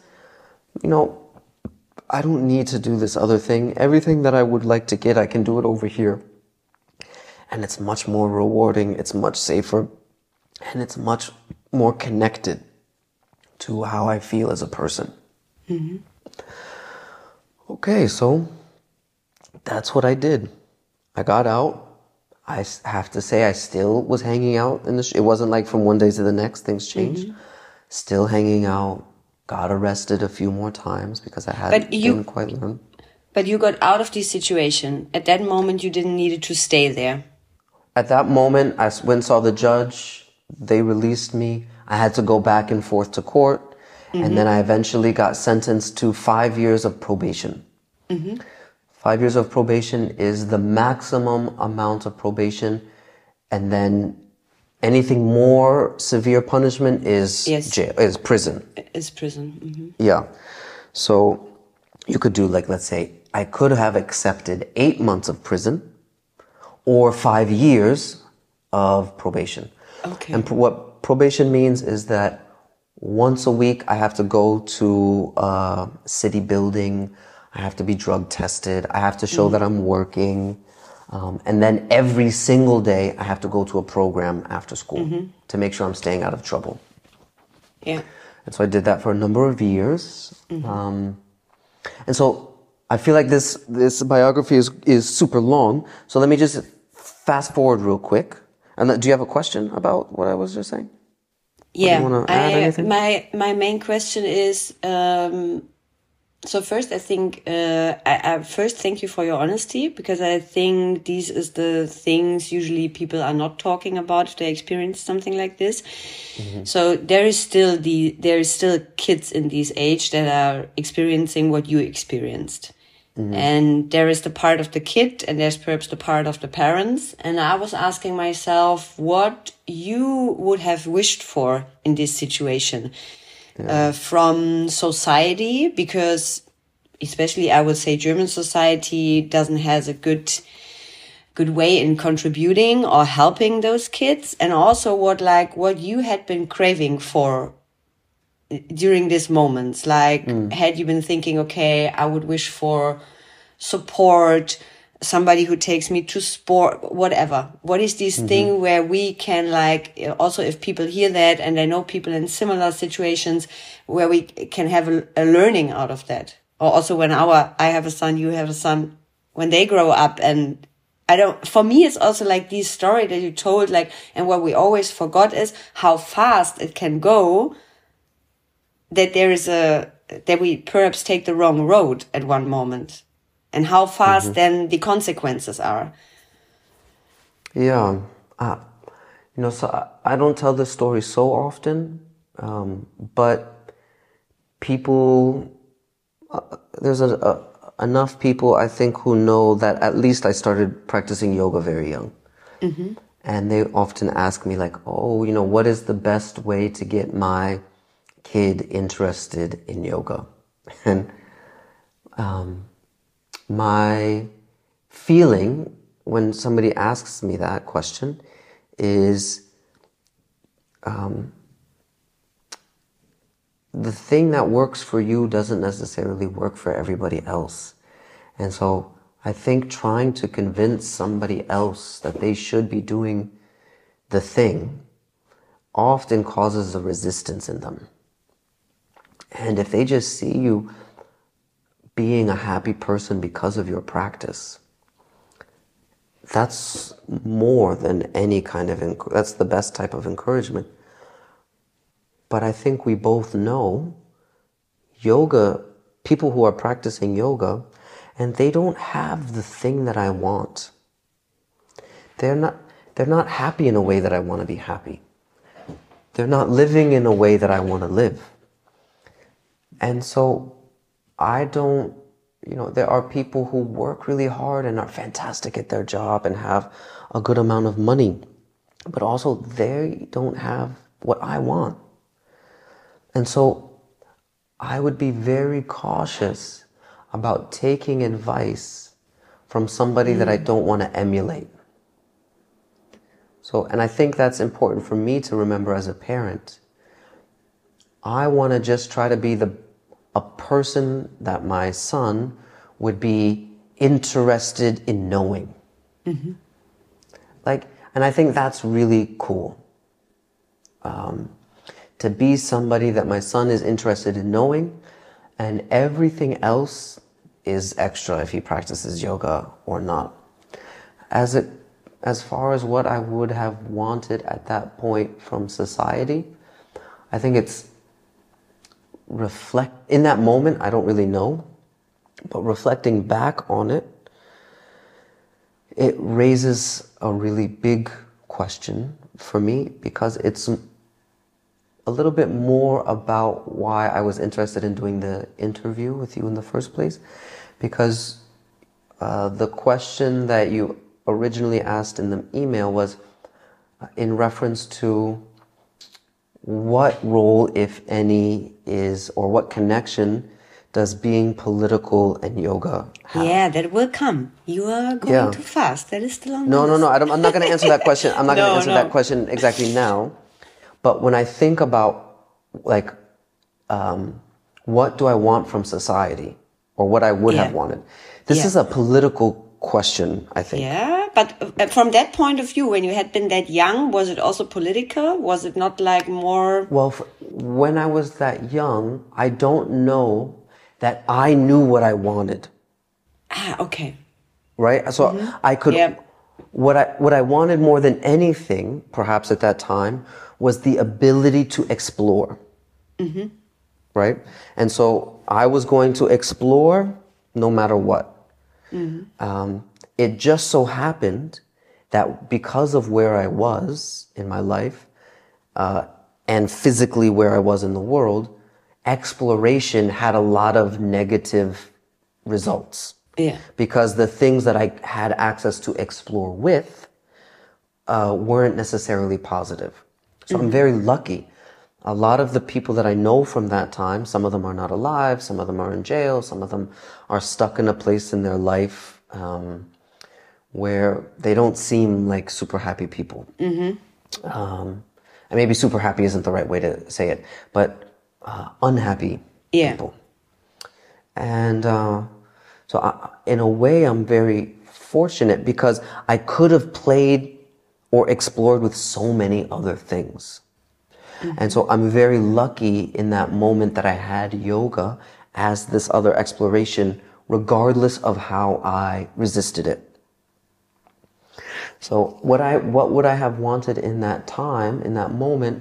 I don't need to do this other thing. Everything that I would like to get, I can do it over here. And it's much more rewarding, it's much safer, and it's much more connected to how I feel as a person. Mm-hmm. Okay, so that's what I did. I got out. I have to say I still was hanging out it wasn't like from one day to the next things changed. Mm-hmm. Still hanging out. Got arrested a few more times because I didn't quite learn. But you got out of this situation. At that moment, you didn't need to stay there. At that moment, I went and saw the judge. They released me. I had to go back and forth to court. And then I eventually got sentenced to 5 years of probation. 5 years of probation is the maximum amount of probation. And then anything more severe punishment is jail, is prison. Is prison. Yeah. So you could do, like, let's say, I could have accepted 8 months of prison or 5 years of probation. Okay. And what probation means is that once a week I have to go to a city building. I have to be drug tested. I have to show that I'm working. And then every single day I have to go to a program after school to make sure I'm staying out of trouble. Yeah. And so I did that for a number of years. And so I feel like this biography is super long. So let me just fast forward real quick. And do you have a question about what I was just saying? Yeah. Do you want to add anything? My main question is, so first I think, I first thank you for your honesty, because I think these is the things usually people are not talking about if they experience something like this. So there is still kids in this age that are experiencing what you experienced. And there is the part of the kid and there's perhaps the part of the parents. And I was asking myself what you would have wished for in this situation from society, because especially I would say German society doesn't has a good way in contributing or helping those kids. And also what you had been craving for during these moments, like had you been thinking, okay, I would wish for support, somebody who takes me to sport, whatever. What is this thing where we can, like, also if people hear that and they know people in similar situations, where we can have a learning out of that? Or also when I have a son, you have a son, when they grow up, and for me, it's also like this story that you told, like, and what we always forgot is how fast it can go, that we perhaps take the wrong road at one moment, and how fast then the consequences are. Yeah. So I don't tell this story so often, but people, there's enough people, I think, who know that at least I started practicing yoga very young. And they often ask me, like, oh, what is the best way to get my kid interested in yoga? And my feeling when somebody asks me that question is the thing that works for you doesn't necessarily work for everybody else. And so I think trying to convince somebody else that they should be doing the thing often causes a resistance in them. And if they just see you being a happy person because of your practice, that's more than any kind of, that's the best type of encouragement. But I think we both know yoga, people who are practicing yoga, and they don't have the thing that I want. They're not happy in a way that I want to be happy. They're not living in a way that I want to live. And so there are people who work really hard and are fantastic at their job and have a good amount of money, but also they don't have what I want. And so I would be very cautious about taking advice from somebody that I don't want to emulate. So, and I think that's important for me to remember as a parent. I want to just try to be a person that my son would be interested in knowing. And I think that's really cool. To be somebody that my son is interested in knowing, and everything else is extra if he practices yoga or not. As far as what I would have wanted at that point from society, I think it's in that moment, I don't really know, but reflecting back on it, it raises a really big question for me, because a little bit more about why I was interested in doing the interview with you in the first place, because the question that you originally asked in the email was in reference to what role, if any, is, or what connection does being political and yoga have? Yeah, that will come. You are going too fast. That is still on the No, list. I'm not going to answer that question. I'm not going to answer No. that question exactly now. But when I think about, like, what do I want from society, or what I would have wanted, this is a political question, I think. Yeah, but from that point of view, when you had been that young, was it also political? Was it not like more... Well, when I was that young, I don't know that I knew what I wanted. Ah, okay. Right? So I could... Yeah. What I wanted more than anything, perhaps at that time, was the ability to explore. Right? And so I was going to explore no matter what. It just so happened that because of where I was in my life, and physically where I was in the world, exploration had a lot of negative results. Yeah. Because the things that I had access to explore with weren't necessarily positive. So I'm very lucky. A lot of the people that I know from that time, some of them are not alive, some of them are in jail, some of them are stuck in a place in their life where they don't seem like super happy people. And maybe super happy isn't the right way to say it, but unhappy people. And so in a way, I'm very fortunate because I could have played or explored with so many other things. And so I'm very lucky in that moment that I had yoga as this other exploration, regardless of how I resisted it. So what would I have wanted in that time, in that moment?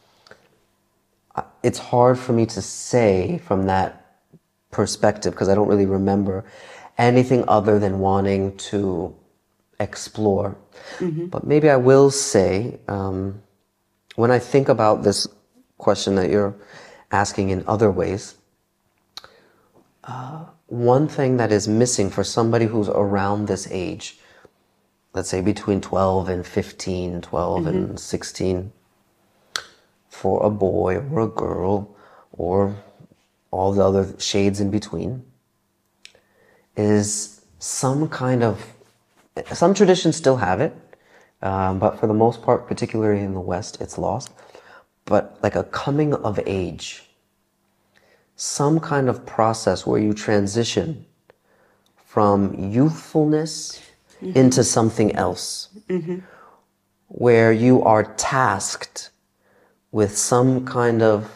It's hard for me to say from that perspective because I don't really remember anything other than wanting to explore. But maybe I will say, when I think about this question that you're asking in other ways, one thing that is missing for somebody who's around this age, let's say between 12 and 15, 12 and 16, for a boy or a girl or all the other shades in between, is some traditions still have it, but for the most part, particularly in the West, it's lost. But like a coming of age, some kind of process where you transition from youthfulness into something else, where you are tasked with some kind of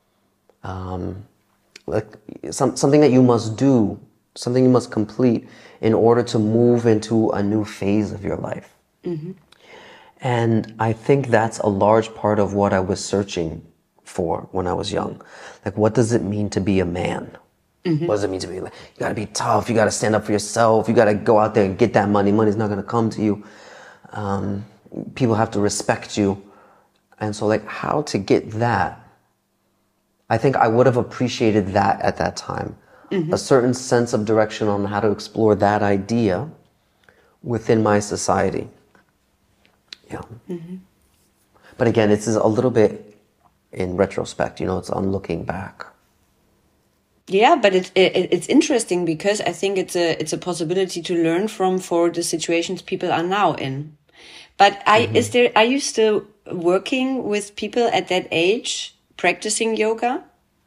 something that you must do, something you must complete in order to move into a new phase of your life. And I think that's a large part of what I was searching for when I was young. Like, what does it mean to be a man? What does it mean to be like, you gotta be tough, you gotta stand up for yourself, you gotta go out there and get that money. Money's not gonna come to you. People have to respect you. And so like how to get that, I think I would have appreciated that at that time. A certain sense of direction on how to explore that idea within my society. Yeah. But again, it's a little bit in retrospect, it's on looking back. Yeah, but it's interesting because I think it's a possibility to learn from for the situations people are now in. But are you still working with people at that age practicing yoga?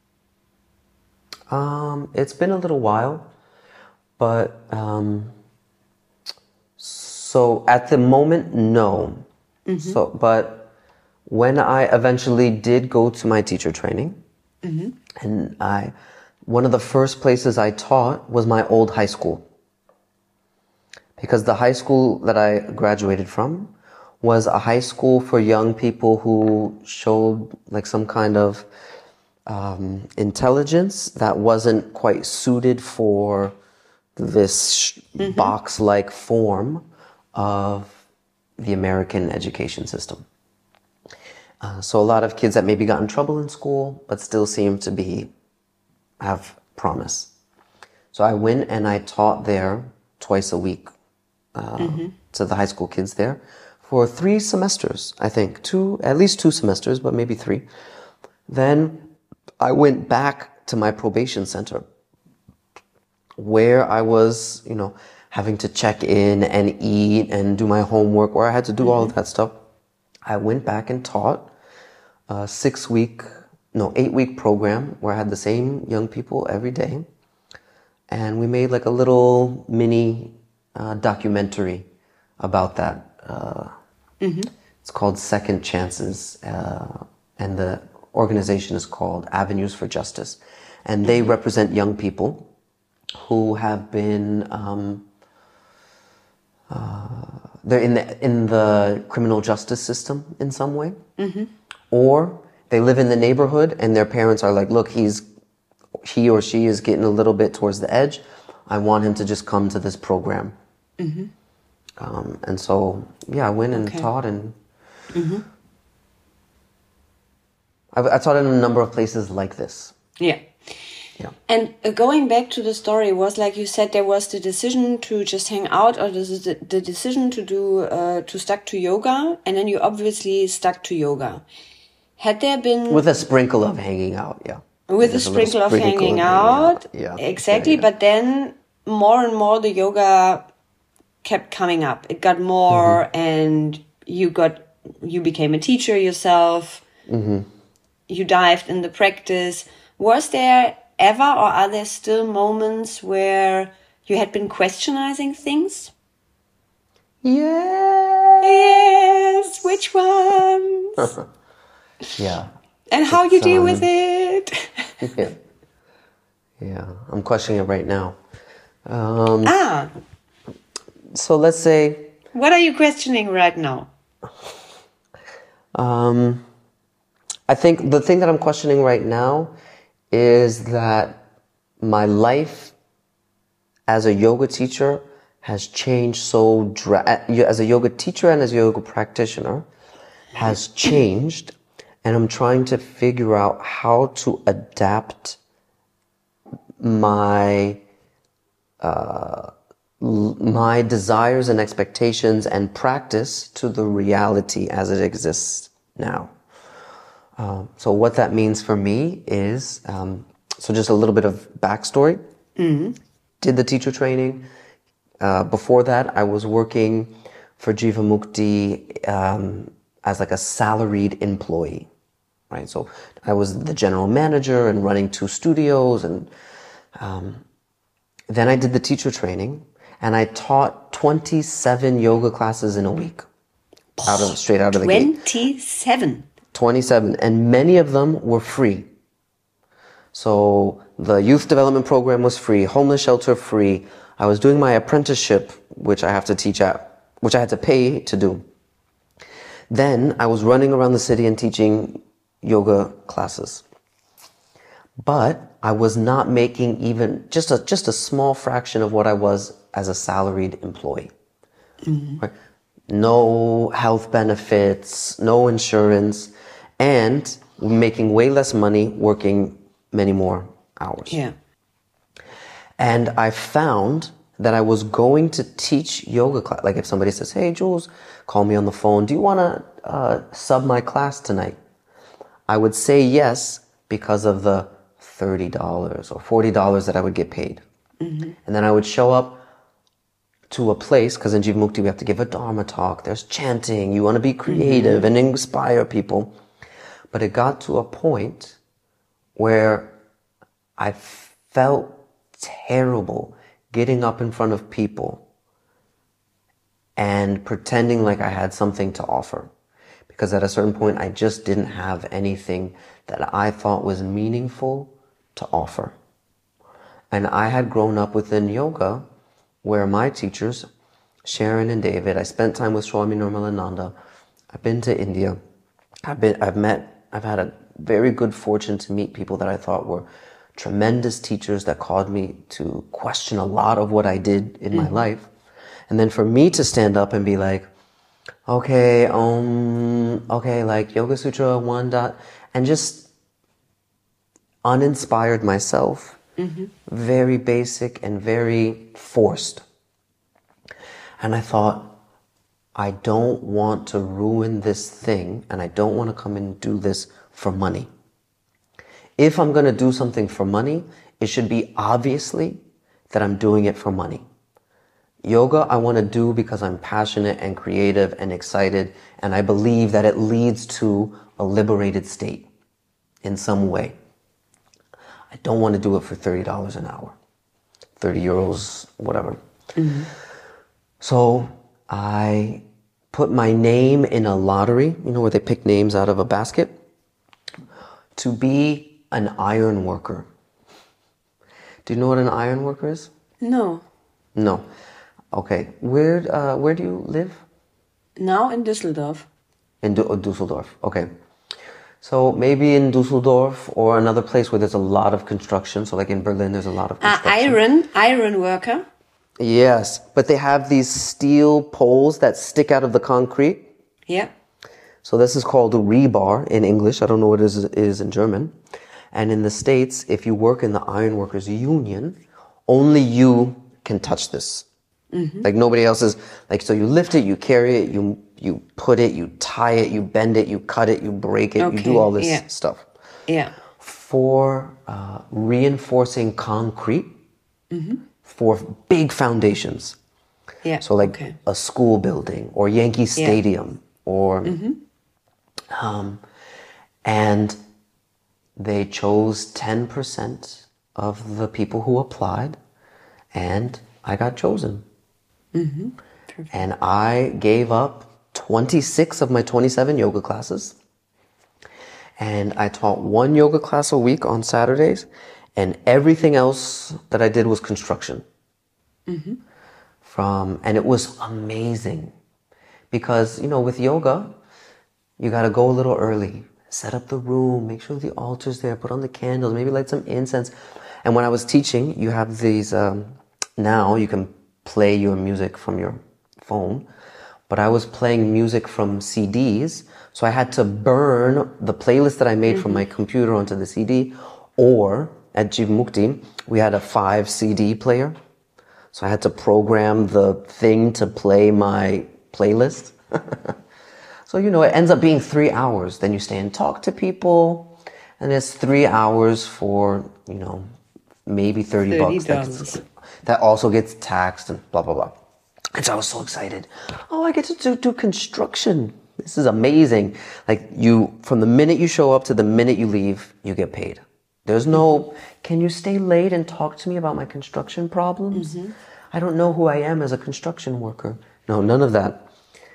It's been a little while, but so at the moment, no. So, but when I eventually did go to my teacher training, and one of the first places I taught was my old high school. Because the high school that I graduated from was a high school for young people who showed like some kind of intelligence that wasn't quite suited for this box-like form of the American education system. So a lot of kids that maybe got in trouble in school, but still seem to have promise. So I went and I taught there twice a week to the high school kids there for 3 semesters, I think. At least 2 semesters, but maybe 3. Then I went back to my probation center where I was, having to check in and eat and do my homework, where I had to do all of that stuff. I went back and taught a 8-week program where I had the same young people every day. And we made like a little mini documentary about that. It's called Second Chances, and the organization is called Avenues for Justice. And they represent young people who have been, they're in the criminal justice system in some way. Or they live in the neighborhood and their parents are like, look, he or she is getting a little bit towards the edge. I want him to just come to this program. And so, I went and taught, and I taught in a number of places like this. Yeah. And going back to the story, was like you said, there was the decision to just hang out, or the decision to stuck to yoga, and then you obviously stuck to yoga. Had there been... With a sprinkle of hanging out, yeah. With a sprinkle of hanging out. Yeah. Exactly. Yeah. But then more and more the yoga kept coming up. It got more, and you became a teacher yourself. You dived in the practice. Was there ever, or are there still moments where you had been questioning things? Yes. Which ones? Yeah. And how you deal with it? Yeah. I'm questioning it right now. So let's say... What are you questioning right now? I think the thing that I'm questioning right now is that my life as a yoga teacher has changed as a yoga teacher and as a yoga practitioner has changed, and I'm trying to figure out how to adapt my desires and expectations and practice to the reality as it exists now. So what that means for me is, so just a little bit of backstory. Did the teacher training. Before that, I was working for Jivamukti as like a salaried employee, right? So I was the general manager and running 2 studios, and then I did the teacher training, and I taught 27 yoga classes in a week, straight out of the gate. 27, and many of them were free. So the youth development program was free, homeless shelter free. I was doing my apprenticeship, which I had to pay to do. Then I was running around the city and teaching yoga classes. But I was not making even just a small fraction of what I was as a salaried employee. Right? No health benefits, no insurance, and making way less money, working many more hours. Yeah. And I found that I was going to teach yoga class. Like if somebody says, hey, Jules, call me on the phone. Do you want to sub my class tonight? I would say yes because of the $30 or $40 that I would get paid. And then I would show up to a place, because in Jivamukti we have to give a Dharma talk. There's chanting. You want to be creative and inspire people. But it got to a point where I felt terrible getting up in front of people and pretending like I had something to offer. Because at a certain point, I just didn't have anything that I thought was meaningful to offer. And I had grown up within yoga where my teachers, Sharon and David, I spent time with Swami Nirmalananda. I've been to India. I've had a very good fortune to meet people that I thought were tremendous teachers that caused me to question a lot of what I did in my life. And then for me to stand up and be like, okay, like Yoga Sutra 1 dot, and just uninspired myself, very basic and very forced. And I thought, I don't want to ruin this thing, and I don't want to come and do this for money. If I'm going to do something for money, it should be obviously that I'm doing it for money. Yoga I want to do because I'm passionate and creative and excited, and I believe that it leads to a liberated state in some way. I don't want to do it for $30 an hour, 30 euros, whatever. So I put my name in a lottery, where they pick names out of a basket, to be an iron worker. Do you know what an iron worker is? No. No. Okay. Where do you live? Now in Düsseldorf. In Düsseldorf. Okay. So maybe in Düsseldorf or another place where there's a lot of construction. So like in Berlin, there's a lot of construction. Iron worker. Yes, but they have these steel poles that stick out of the concrete. Yeah. So this is called a rebar in English. I don't know what it is in German. And in the States, if you work in the Ironworkers Union, only you can touch this. Like nobody else is. Like, so you lift it, you carry it, you put it, you tie it, you bend it, you cut it, you break it, you do all this stuff. Yeah. For reinforcing concrete for big foundations. Yeah. So like a school building or Yankee Stadium or and they chose 10% of the people who applied, and I got chosen. And I gave up 26 of my 27 yoga classes, and I taught 1 yoga class a week on Saturdays, and everything else that I did was construction. And it was amazing because, with yoga, you got to go a little early, set up the room, make sure the altar's there, put on the candles, maybe light some incense. And when I was teaching, you have these, now you can play your music from your phone, but I was playing music from CDs, so I had to burn the playlist that I made from my computer onto the CD, or at Jivamukti, we had a 5 CD player, so I had to program the thing to play my playlist. So, it ends up being 3 hours. Then you stay and talk to people, and it's 3 hours for, maybe $30. That also gets taxed and blah, blah, blah. And so I was so excited. Oh, I get to do construction. This is amazing. Like from the minute you show up to the minute you leave, you get paid. There's no, can you stay late and talk to me about my construction problems? I don't know who I am as a construction worker. No, none of that.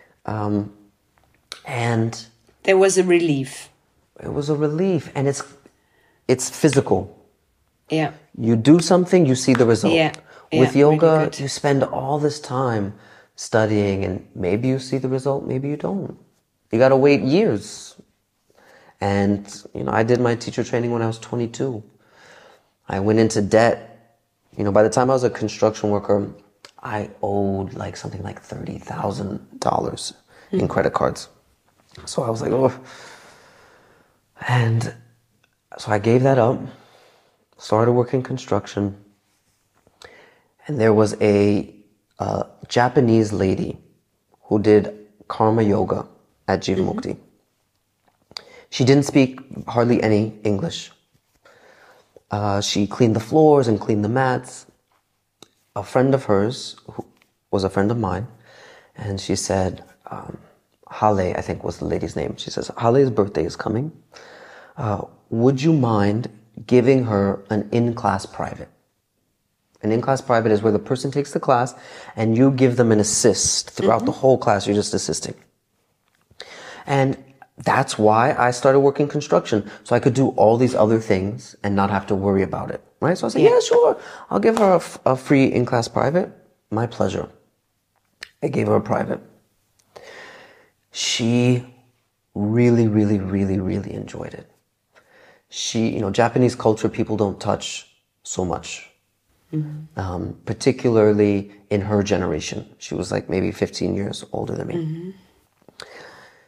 And there was a relief. It was a relief, and it's physical. Yeah. You do something, you see the result. Yeah. With yoga, really you spend all this time studying, and maybe you see the result, maybe you don't. You got to wait years. And, I did my teacher training when I was 22. I went into debt. By the time I was a construction worker, I owed something like $30,000 in credit cards. So I was like, oh. And so I gave that up, started working construction. And there was a Japanese lady who did karma yoga at Jivamukti. She didn't speak hardly any English. She cleaned the floors and cleaned the mats. A friend of hers, who was a friend of mine, and she said, Hale, I think was the lady's name. She says, Hale's birthday is coming. Would you mind giving her an in-class private? An in-class private is where the person takes the class and you give them an assist. Throughout the whole class, you're just assisting. And that's why I started working construction. So I could do all these other things and not have to worry about it. Right? So I said, yeah, sure. I'll give her a free in-class private. My pleasure. I gave her a private. She really, really, really, really enjoyed it. Japanese culture, people don't touch so much. Particularly in her generation. She was maybe 15 years older than me.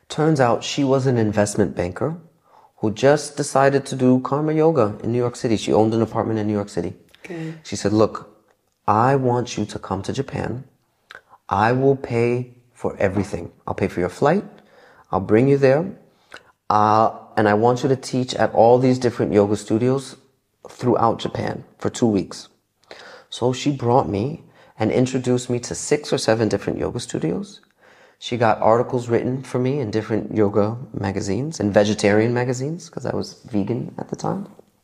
Turns out she was an investment banker who just decided to do karma yoga in New York City. She owned an apartment in New York City. Okay. She said, look, I want you to come to Japan. I will pay for everything. I'll pay for your flight. I'll bring you there. And I want you to teach at all these different yoga studios throughout Japan for 2 weeks. So she brought me and introduced me to 6 or 7 different yoga studios. She got articles written for me in different yoga magazines and vegetarian magazines because I was vegan at the time.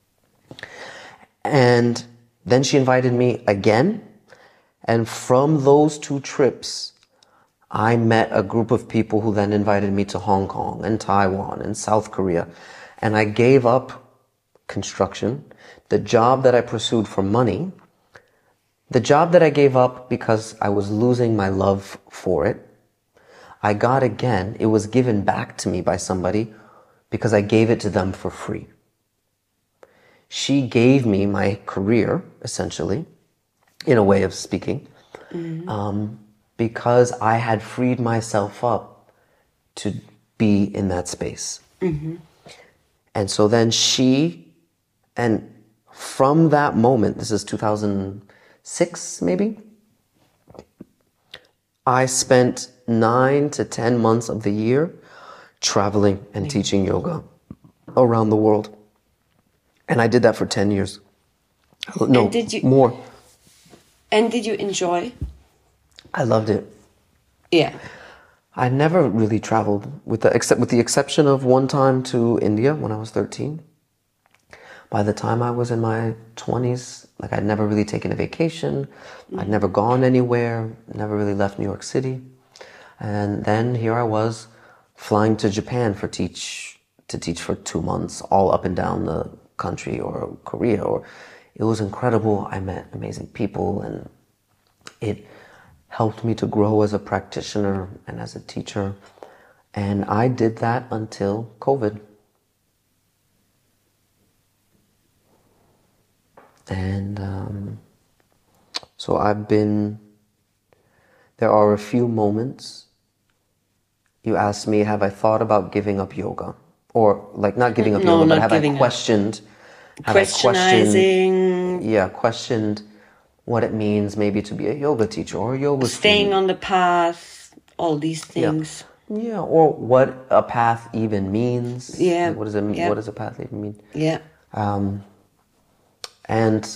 And then she invited me again. And from those 2 trips, I met a group of people who then invited me to Hong Kong and Taiwan and South Korea. And I gave up construction, the job that I pursued for money, the job that I gave up because I was losing my love for it. I got again, it was given back to me by somebody because I gave it to them for free. She gave me my career, essentially, in a way of speaking, because I had freed myself up to be in that space. And so then and from that moment, this is 2006 maybe, I spent 9 to 10 months of the year traveling and teaching yoga around the world. And I did that for 10 years. No, more. And did you enjoy? I loved it. Yeah. I never really traveled with the exception of one time to India when I was 13. By the time I was in my 20s, like I'd never really taken a vacation. I'd never gone anywhere, never really left New York City. And then here I was flying to Japan to teach for 2 months, all up and down the country or Korea. It was incredible. I met amazing people and it helped me to grow as a practitioner and as a teacher. And I did that until COVID. And so there are a few moments. You asked me, have I thought about giving up yoga? Or like not giving up yoga, but have I questioned? Questioned what it means maybe to be a yoga teacher or a yoga staying student. On the path, all these things. Yeah, or what a path even means. Yeah. What does it mean? Yeah. What does a path even mean? Yeah. And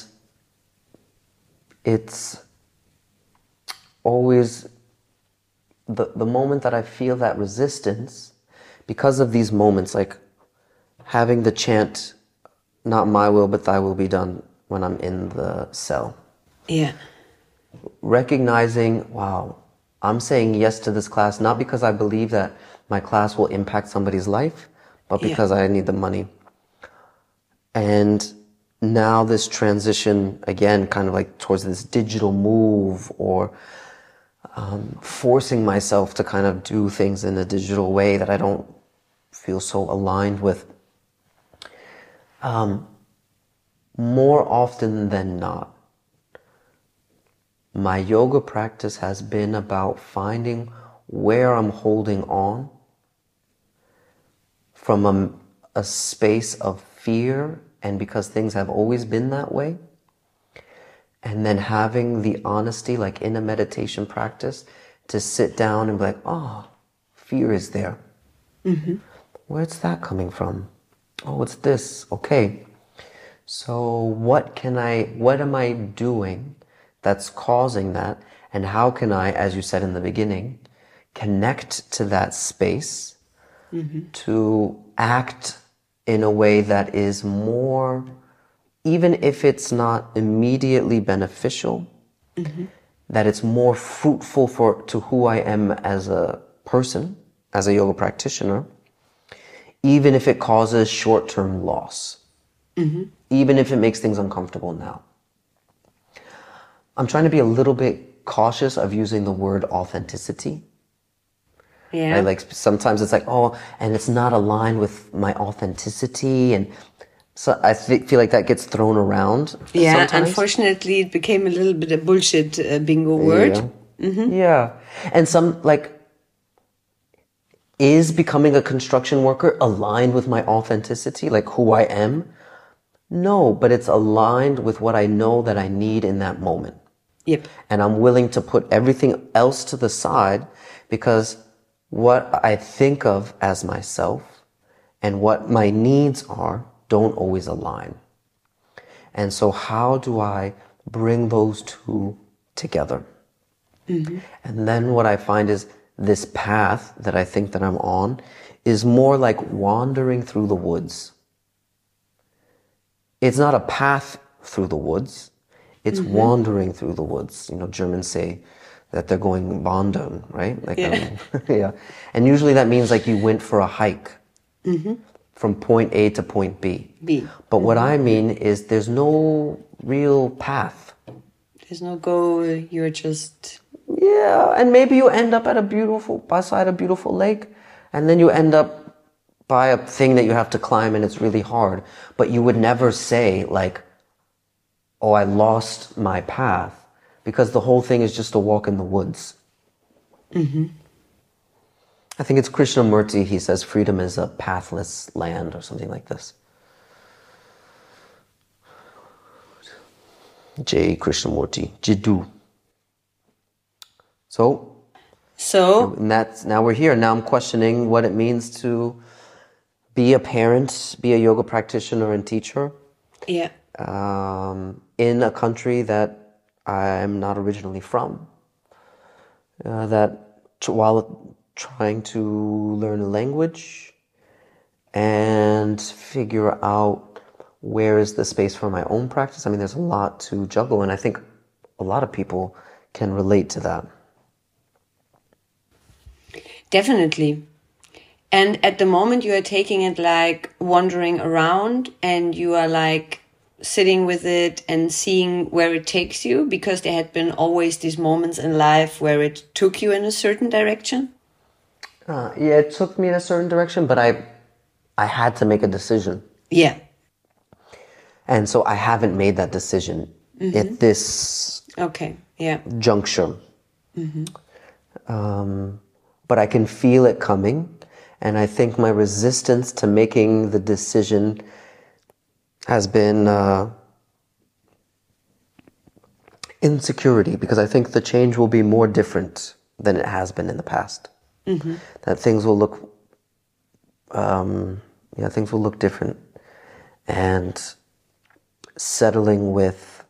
it's always the moment that I feel that resistance, because of these moments, like having the chant, not my will, but thy will be done when I'm in the cell. Yeah. Recognizing, wow, I'm saying yes to this class, not because I believe that my class will impact somebody's life, but because I need the money. And now this transition, again, kind of like towards this digital move or forcing myself to kind of do things in a digital way that I don't feel so aligned with. More often than not, my yoga practice has been about finding where I'm holding on from a space of fear, and because things have always been that way, and then having the honesty, like in a meditation practice, to sit down and be like, oh, fear is there. Mm-hmm. Where's that coming from? Oh, it's this. Okay. So what am I doing that's causing that? And how can I, as you said in the beginning, connect to that space to act in a way that is more, even if it's not immediately beneficial, that it's more fruitful to who I am as a person, as a yoga practitioner, even if it causes short-term loss, even if it makes things uncomfortable now. I'm trying to be a little bit cautious of using the word authenticity. Yeah. Right? Like sometimes it's like, oh, and it's not aligned with my authenticity, and so I feel like that gets thrown around. Yeah, sometimes. Unfortunately, it became a little bit a bullshit bingo word. Yeah. Yeah, and some like is becoming a construction worker aligned with my authenticity, like who I am? No, but it's aligned with what I know that I need in that moment. Yep. And I'm willing to put everything else to the side because what I think of as myself and what my needs are don't always align. And so how do I bring those two together? And then what I find is this path that I think that I'm on is more like wandering through the woods. It's not a path through the woods. It's wandering through the woods. You know, Germans say that they're going wandern, right? Like, Yeah. yeah. And usually that means like you went for a hike from point A to point B. B. But what I mean is there's no real path. There's no goal. You're just... Yeah, and maybe you end up beside a beautiful lake, and then you end up by a thing that you have to climb and it's really hard. But you would never say like, oh, I lost my path, because the whole thing is just a walk in the woods. I think it's Krishnamurti, he says freedom is a pathless land or something like this. J. Krishnamurti, Jiddu. So, And now we're here. Now I'm questioning what it means to be a parent, be a yoga practitioner and teacher yeah. in a country that I'm not originally from. While trying to learn a language and figure out where is the space for my own practice. I mean, there's a lot to juggle, and I think a lot of people can relate to that. Definitely. And at the moment you are taking it like wandering around, and you are like sitting with it and seeing where it takes you, because there had been always these moments in life where it took you in a certain direction. Yeah, it took me in a certain direction, but I had to make a decision. Yeah. And so I haven't made that decision at this Okay. Yeah. juncture. But I can feel it coming. And I think my resistance to making the decision has been insecurity, because I think the change will be more different than it has been in the past. That things will look, things will look different. And settling with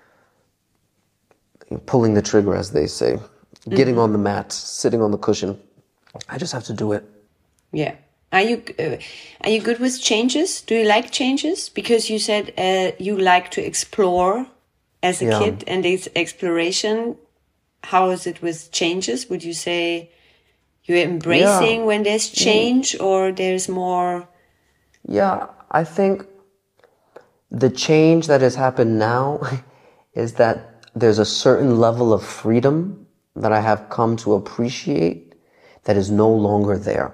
pulling the trigger, as they say, getting on the mat, sitting on the cushion. I just have to do it. Yeah. Are you good with changes? Do you like changes? Because you said you like to explore as a kid, and this exploration. How is it with changes? Would you say you're embracing when there's change, or there's more? Yeah, I think the change that has happened now is that there's a certain level of freedom that I have come to appreciate that is no longer there.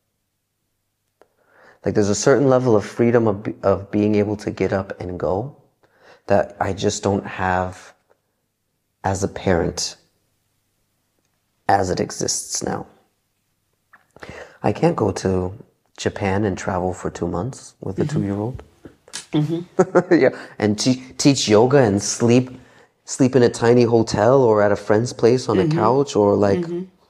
Like there's a certain level of freedom of being able to get up and go that I just don't have as a parent as it exists now. I can't go to Japan and travel for 2 months with a 2-year-old. Yeah, and teach yoga and sleep in a tiny hotel or at a friend's place on a couch, or like,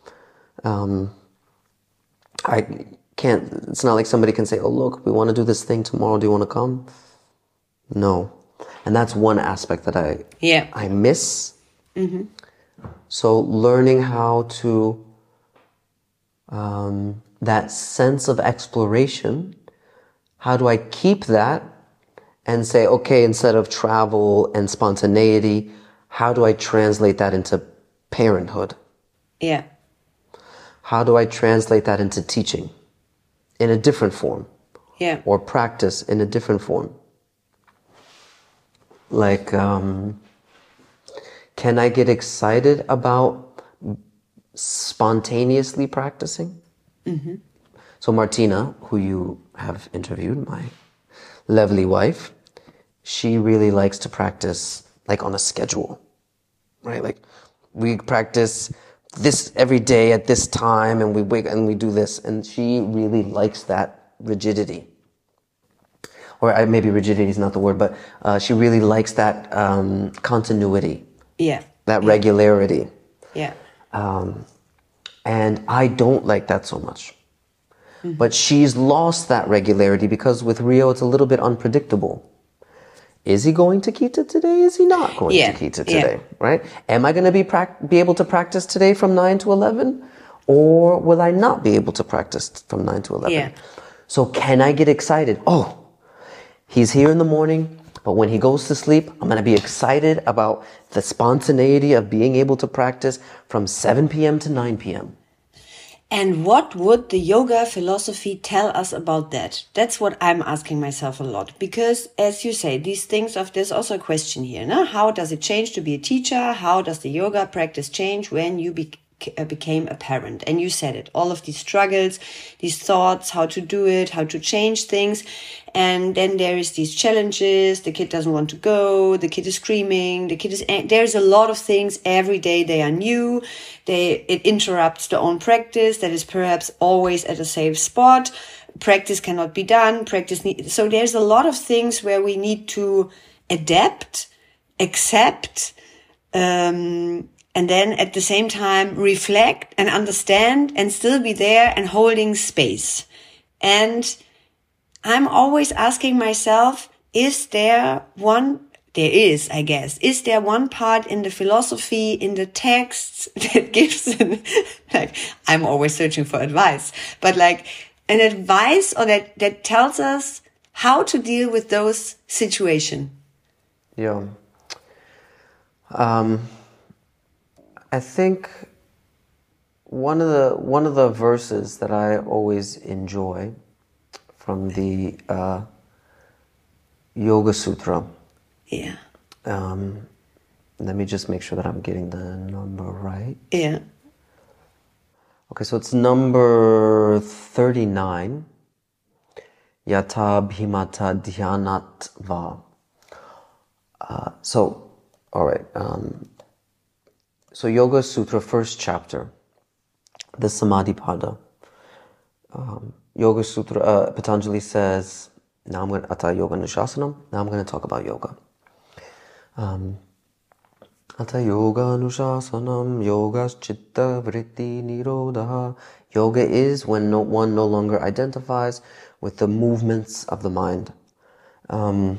I can't, it's not like somebody can say, oh, look, we want to do this thing tomorrow. Do you want to come? No. And that's one aspect that I miss. So learning how to, that sense of exploration, how do I keep that and say, okay, instead of travel and spontaneity, how do I translate that into parenthood? Yeah. How do I translate that into teaching in a different form? Yeah. Or practice in a different form? Like, can I get excited about spontaneously practicing? So Martina, who you have interviewed, my lovely wife, she really likes to practice like on a schedule, right? Like we practice this every day at this time, and we wake and we do this. And she really likes that rigidity. Or maybe rigidity is not the word, but she really likes that continuity. Yeah. That regularity. Yeah. And I don't like that so much. But she's lost that regularity because with Rio, it's a little bit unpredictable. Is he going to Kita today? Is he not going to Kita today? Right? Am I going to be able to practice today from 9 to 11? Or will I not be able to practice from 9 to 11? Yeah. So can I get excited? Oh, he's here in the morning, but when he goes to sleep, I'm going to be excited about the spontaneity of being able to practice from 7 p.m. to 9 p.m. And what would the yoga philosophy tell us about that? That's what I'm asking myself a lot. Because, as you say, there's also a question here. No? How does it change to be a teacher? How does the yoga practice change when you became a parent? And you said it, all of these struggles, these thoughts, how to do it, how to change things. And then there is these challenges. The kid doesn't want to go. The kid is screaming. There's a lot of things every day. They are new. It interrupts the own practice that is perhaps always at a safe spot. Practice cannot be done. So there's a lot of things where we need to adapt, accept, and then at the same time reflect and understand and still be there and holding space. And I'm always asking myself, is there one part in the philosophy, in the texts that gives I'm always searching for advice, but like an advice or that tells us how to deal with those situations? Yeah. I think one of the verses that I always enjoy from the Yoga Sutra. Yeah. Let me just make sure that I'm getting the number right. Yeah. Okay, so it's number 39. Yata bhimata dhyanatva. All right. So Yoga Sutra, first chapter, the Samadhipada. Yoga Sutra, Patanjali says, now I'm going to, Atha Yoga Anushasanam, now I'm going to talk about yoga. Atha Yoga Anushasanam, Yogas Chitta Vritti Nirodha. Yoga is when one no longer identifies with the movements of the mind. Atha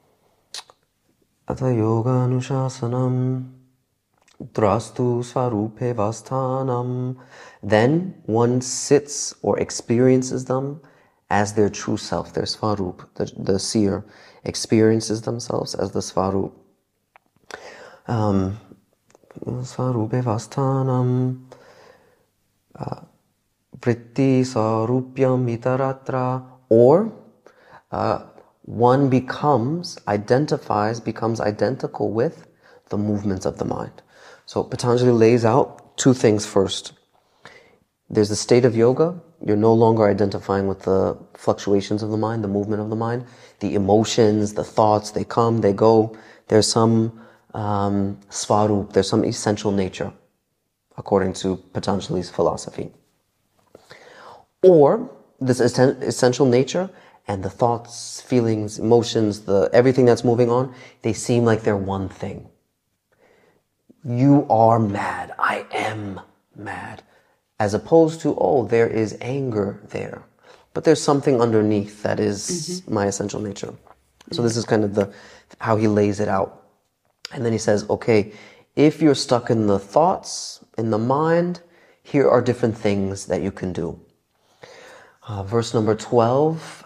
Yoga Anushasanam, Drastu Svarupe Vasthanam. Then one sits or experiences them as their true self, their Svarup. The seer experiences themselves as the Svarup. Svarupe Vasthanam Vritti Sarupyam Itaratra. Or one becomes identical with the movements of the mind. So Patanjali lays out two things first. There's the state of yoga. You're no longer identifying with the fluctuations of the mind, the movement of the mind, the emotions, the thoughts, they come, they go. There's some svarup, there's some essential nature, according to Patanjali's philosophy. Or this essential nature and the thoughts, feelings, emotions, everything that's moving on, they seem like they're one thing. You are mad. I am mad. As opposed to, there is anger there. But there's something underneath that is my essential nature. So this is kind of how he lays it out. And then he says, okay, if you're stuck in the thoughts, in the mind, here are different things that you can do. Verse number 12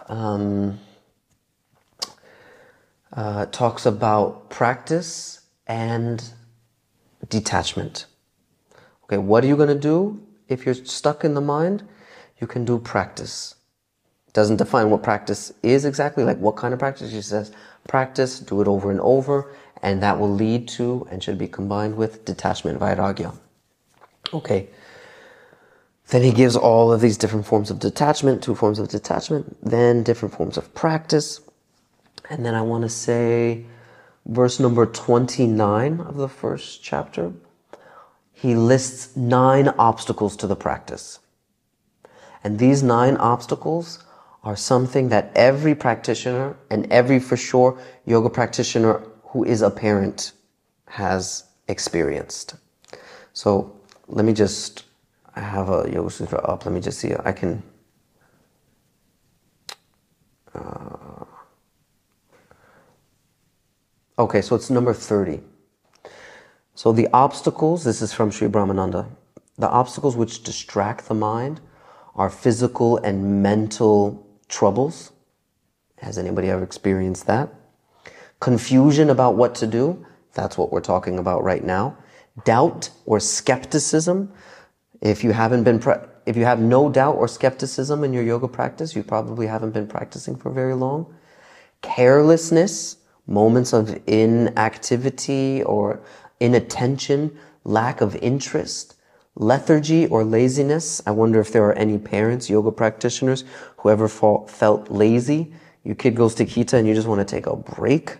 talks about practice and detachment. Okay, what are you going to do if you're stuck in the mind? You can do practice. It doesn't define what practice is exactly, like what kind of practice. He says practice, do it over and over, and that will lead to and should be combined with detachment, vairagya. Okay. Then he gives all of these different forms of detachment, 2 forms of detachment, then different forms of practice. And then I want to say verse number 29 of the first chapter. he lists 9 obstacles to the practice. And these 9 obstacles are something that every practitioner and every, for sure, yoga practitioner who is a parent has experienced. So let me just, I have a Yoga Sutra up. Let me just see. I can, okay, so it's number 30. So the obstacles, this is from Sri Brahmananda, the obstacles which distract the mind are physical and mental troubles. Has anybody ever experienced that? Confusion about what to do. That's what we're talking about right now. Doubt or skepticism. If you have no doubt or skepticism in your yoga practice, you probably haven't been practicing for very long. Carelessness, moments of inactivity or inattention, lack of interest. Lethargy or laziness. I wonder if there are any parents, yoga practitioners, who ever felt lazy. Your kid goes to Kita and you just want to take a break.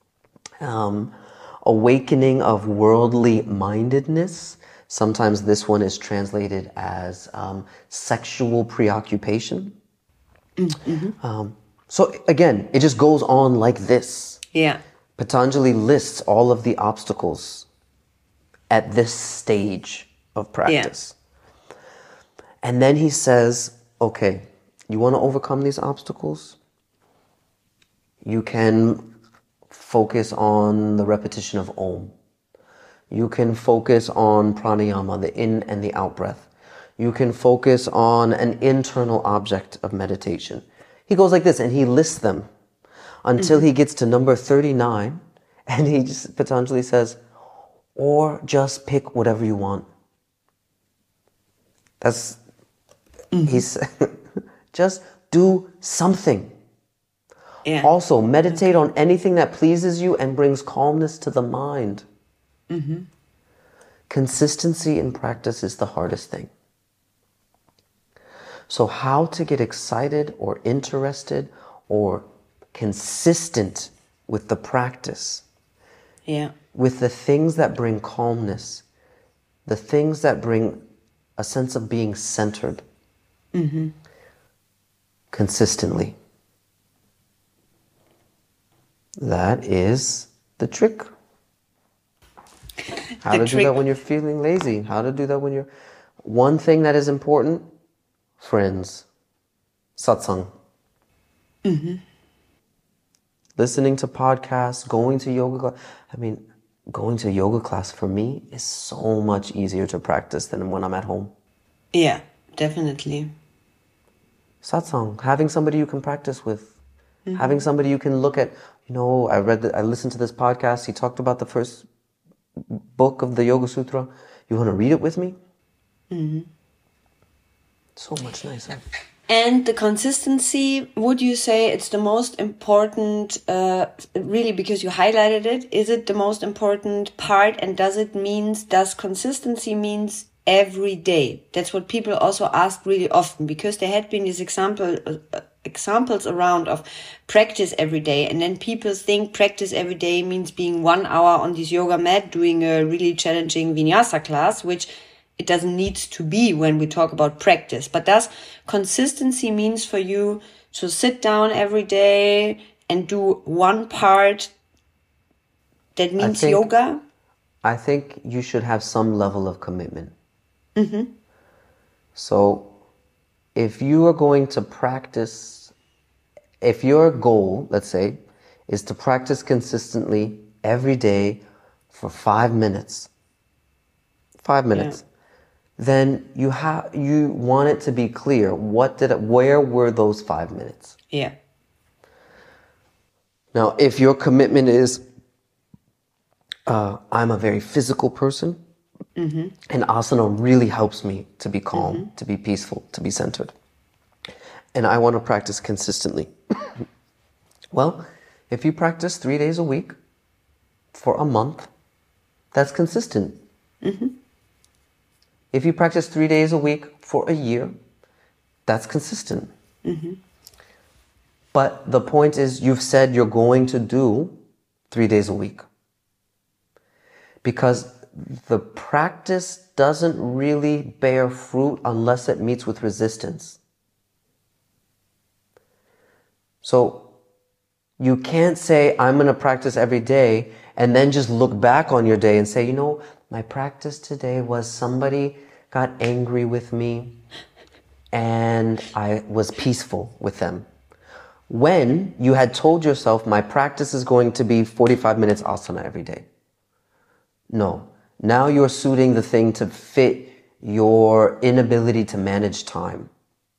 Awakening of worldly mindedness. Sometimes this one is translated as sexual preoccupation. Mm-hmm. So again, it just goes on like this. Yeah. Patanjali lists all of the obstacles at this stage of practice. Yeah. And then he says, okay, you want to overcome these obstacles? You can focus on the repetition of Om. You can focus on pranayama, the in and the out breath. You can focus on an internal object of meditation. He goes like this and he lists them until he gets to number 39 and Patanjali says, or just pick whatever you want. He's just do something. Yeah. Also, meditate on anything that pleases you and brings calmness to the mind. Mm-hmm. Consistency in practice is the hardest thing. So how to get excited or interested or consistent with the practice, with the things that bring calmness, the things that bring a sense of being centered, consistently. That is the trick. How to do that when you're feeling lazy. How to do that when you're... One thing that is important, friends, satsang. Listening to podcasts, going to yoga class. Going to yoga class for me is so much easier to practice than when I'm at home. Yeah, definitely. Satsang, having somebody you can practice with, having somebody you can look at. I listened to this podcast. He talked about the first book of the Yoga Sutra. You want to read it with me? So much nicer. And the consistency, would you say it's the most important, really, because you highlighted it, is it the most important part? And does consistency means every day? That's what people also ask really often, because there had been these examples around of practice every day. And then people think practice every day means being 1 hour on this yoga mat, doing a really challenging vinyasa class, which it doesn't need to be when we talk about practice. But does consistency means for you to sit down every day and do one part that means yoga? I think you should have some level of commitment. So if you are going to practice, if your goal, let's say, is to practice consistently every day for 5 minutes, then you want it to be clear. Where were those 5 minutes? Yeah. Now, if your commitment is, I'm a very physical person, and asana really helps me to be calm, to be peaceful, to be centered, and I want to practice consistently. Well, if you practice 3 days a week for a month, that's consistent. If you practice 3 days a week for a year, that's consistent. But the point is, you've said you're going to do 3 days a week. Because the practice doesn't really bear fruit unless it meets with resistance. So you can't say, I'm going to practice every day, and then just look back on your day and say, you know, my practice today was somebody got angry with me and I was peaceful with them. When you had told yourself, my practice is going to be 45 minutes asana every day. No. Now you're suiting the thing to fit your inability to manage time.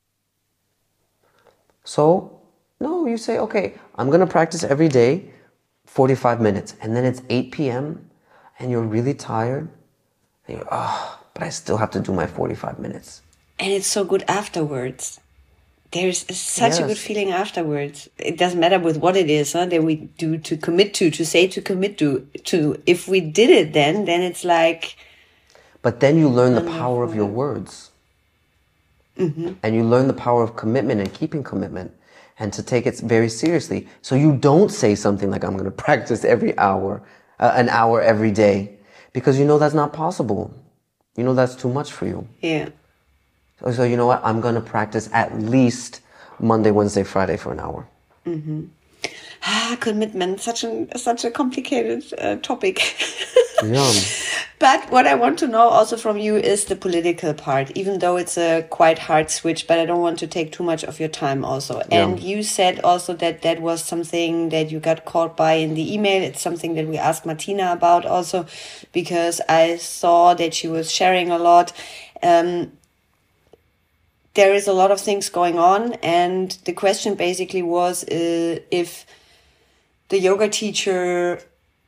So, no, you say, okay, I'm going to practice every day, 45 minutes. And then it's 8 p.m. and you're really tired. And you're, but I still have to do my 45 minutes. And it's so good afterwards. There's such a good feeling afterwards. It doesn't matter with what it is that we do to commit to say to commit to. If we did it then it's like... But then you learn the power of your words. Mm-hmm. And you learn the power of commitment and keeping commitment and to take it very seriously. So you don't say something like, I'm going to practice every hour, an hour every day, because you know that's not possible. You know that's too much for you. Yeah. So you know what? I'm going to practice at least Monday, Wednesday, Friday for an hour. Mm-hmm. Commitment, such a complicated topic. Yeah. But what I want to know also from you is the political part, even though it's a quite hard switch, but I don't want to take too much of your time also. Yeah. And you said also that was something that you got caught by in the email. It's something that we asked Martina about also, because I saw that she was sharing a lot. There is a lot of things going on, and the question basically was if the yoga teacher,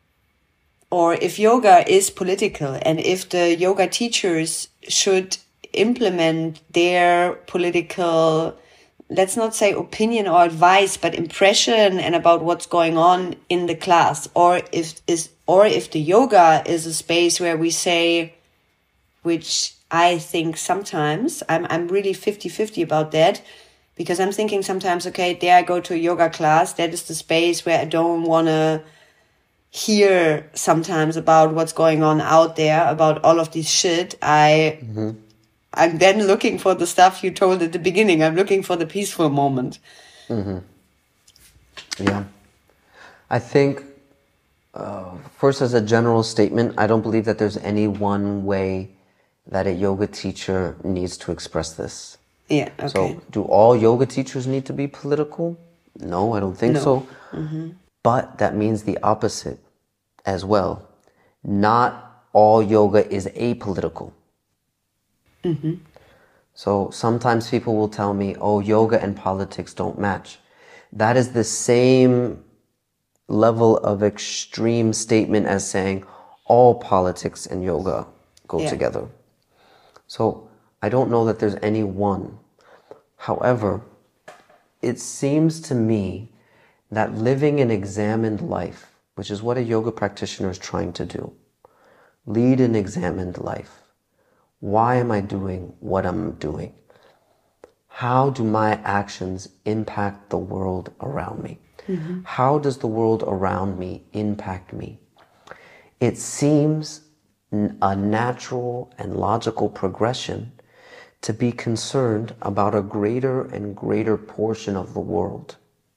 or if yoga is political, and if the yoga teachers should implement their political, let's not say opinion or advice, but impression and about what's going on in the class, or if the yoga is a space where we say, which I think sometimes, I'm really 50-50 about that, because I'm thinking sometimes, okay, there I go to a yoga class, that is the space where I don't want to hear sometimes about what's going on out there, about all of this shit. I'm then looking for the stuff you told at the beginning. I'm looking for the peaceful moment. Mm-hmm. Yeah. I think, first as a general statement, I don't believe that there's any one way that a yoga teacher needs to express this. Yeah, okay. So, do all yoga teachers need to be political? No, I don't think so. Mm-hmm. But that means the opposite as well. Not all yoga is apolitical. Mm-hmm. So sometimes people will tell me, oh, yoga and politics don't match. That is the same level of extreme statement as saying all politics and yoga go together. So I don't know that there's any one. However, it seems to me that living an examined life, which is what a yoga practitioner is trying to do, lead an examined life. Why am I doing what I'm doing? How do my actions impact the world around me? Mm-hmm. How does the world around me impact me? It seems a natural and logical progression to be concerned about a greater and greater portion of the world.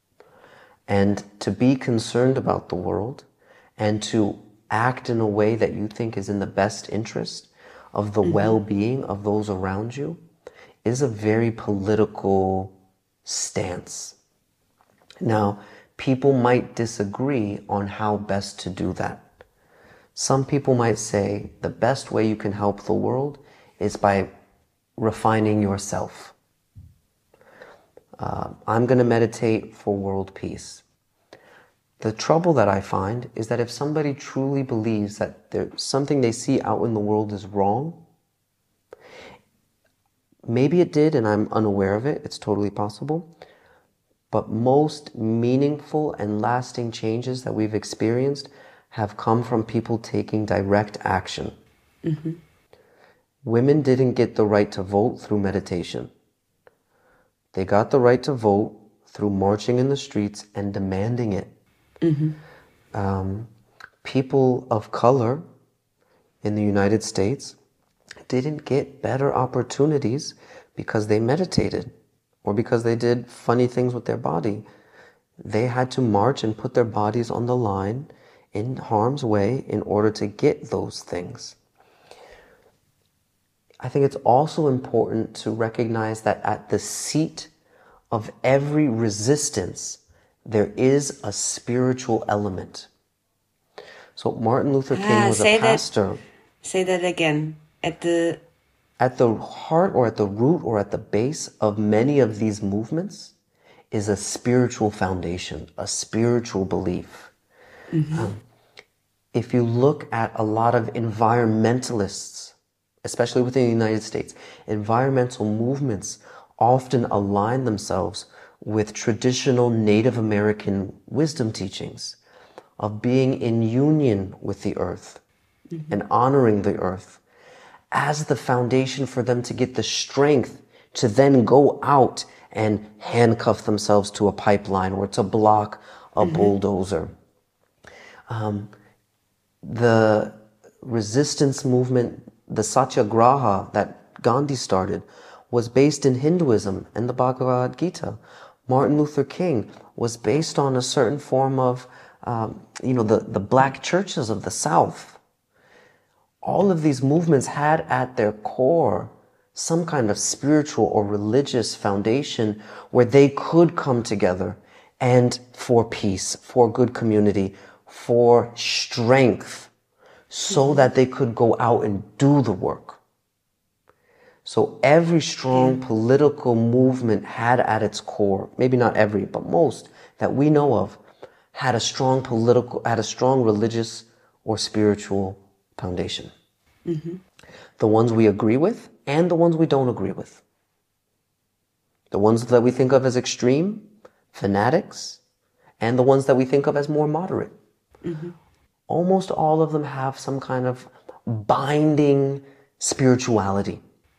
And to be concerned about the world and to act in a way that you think is in the best interest of the well-being of those around you is a very political stance. Now, people might disagree on how best to do that. Some people might say the best way you can help the world is by refining yourself. I'm going to meditate for world peace. The trouble that I find is that if somebody truly believes that there's something they see out in the world is wrong, maybe it did and I'm unaware of it, it's totally possible, but most meaningful and lasting changes that we've experienced have come from people taking direct action. Mm-hmm. Women didn't get the right to vote through meditation. They got the right to vote through marching in the streets and demanding it. Mm-hmm. People of color in the United States didn't get better opportunities because they meditated or because they did funny things with their body. They had to march and put their bodies on the line in harm's way in order to get those things. I think it's also important to recognize that at the seat of every resistance, there is a spiritual element. So Martin Luther King was a pastor. Say that again. At the heart or at the root or at the base of many of these movements is a spiritual foundation, a spiritual belief. If you look at a lot of environmentalists, especially within the United States, environmental movements often align themselves with traditional Native American wisdom teachings of being in union with the earth and honoring the earth as the foundation for them to get the strength to then go out and handcuff themselves to a pipeline or to block a bulldozer. The resistance movement, the Satyagraha that Gandhi started, was based in Hinduism and the Bhagavad Gita. Martin Luther King was based on a certain form of, the black churches of the South. All of these movements had at their core some kind of spiritual or religious foundation where they could come together and for peace, for good community, for strength, so that they could go out and do the work. So every strong political movement had at its core, maybe not every, but most that we know of, had a strong religious or spiritual foundation. The ones we agree with and the ones we don't agree with. The ones that we think of as extreme, fanatics, and the ones that we think of as more moderate. Almost all of them have some kind of binding spirituality.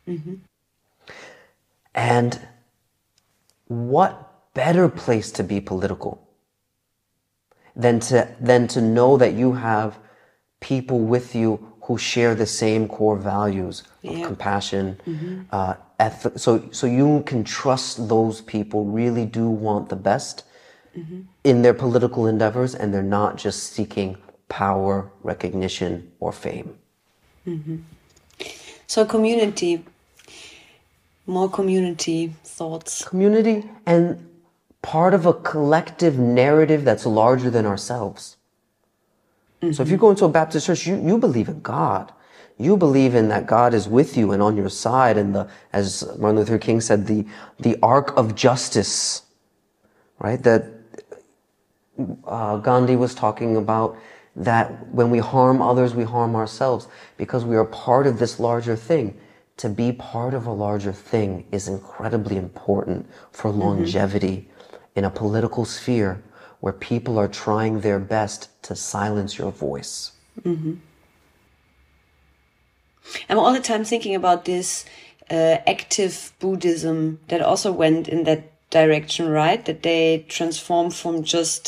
And what better place to be political than to know that you have people with you who share the same core values of compassion, ethic. So you can trust those people really do want the best in their political endeavors, and they're not just seeking power, recognition, or fame. So community, more community thoughts. Community and part of a collective narrative that's larger than ourselves. So if you go into a Baptist church, you believe in God. You believe in that God is with you and on your side. And as Martin Luther King said, the arc of justice, right? That Gandhi was talking about, that when we harm others, we harm ourselves because we are part of this larger thing. To be part of a larger thing is incredibly important for longevity in a political sphere where people are trying their best to silence your voice. I'm all the time thinking about this active Buddhism that also went in that direction, right? That they transform from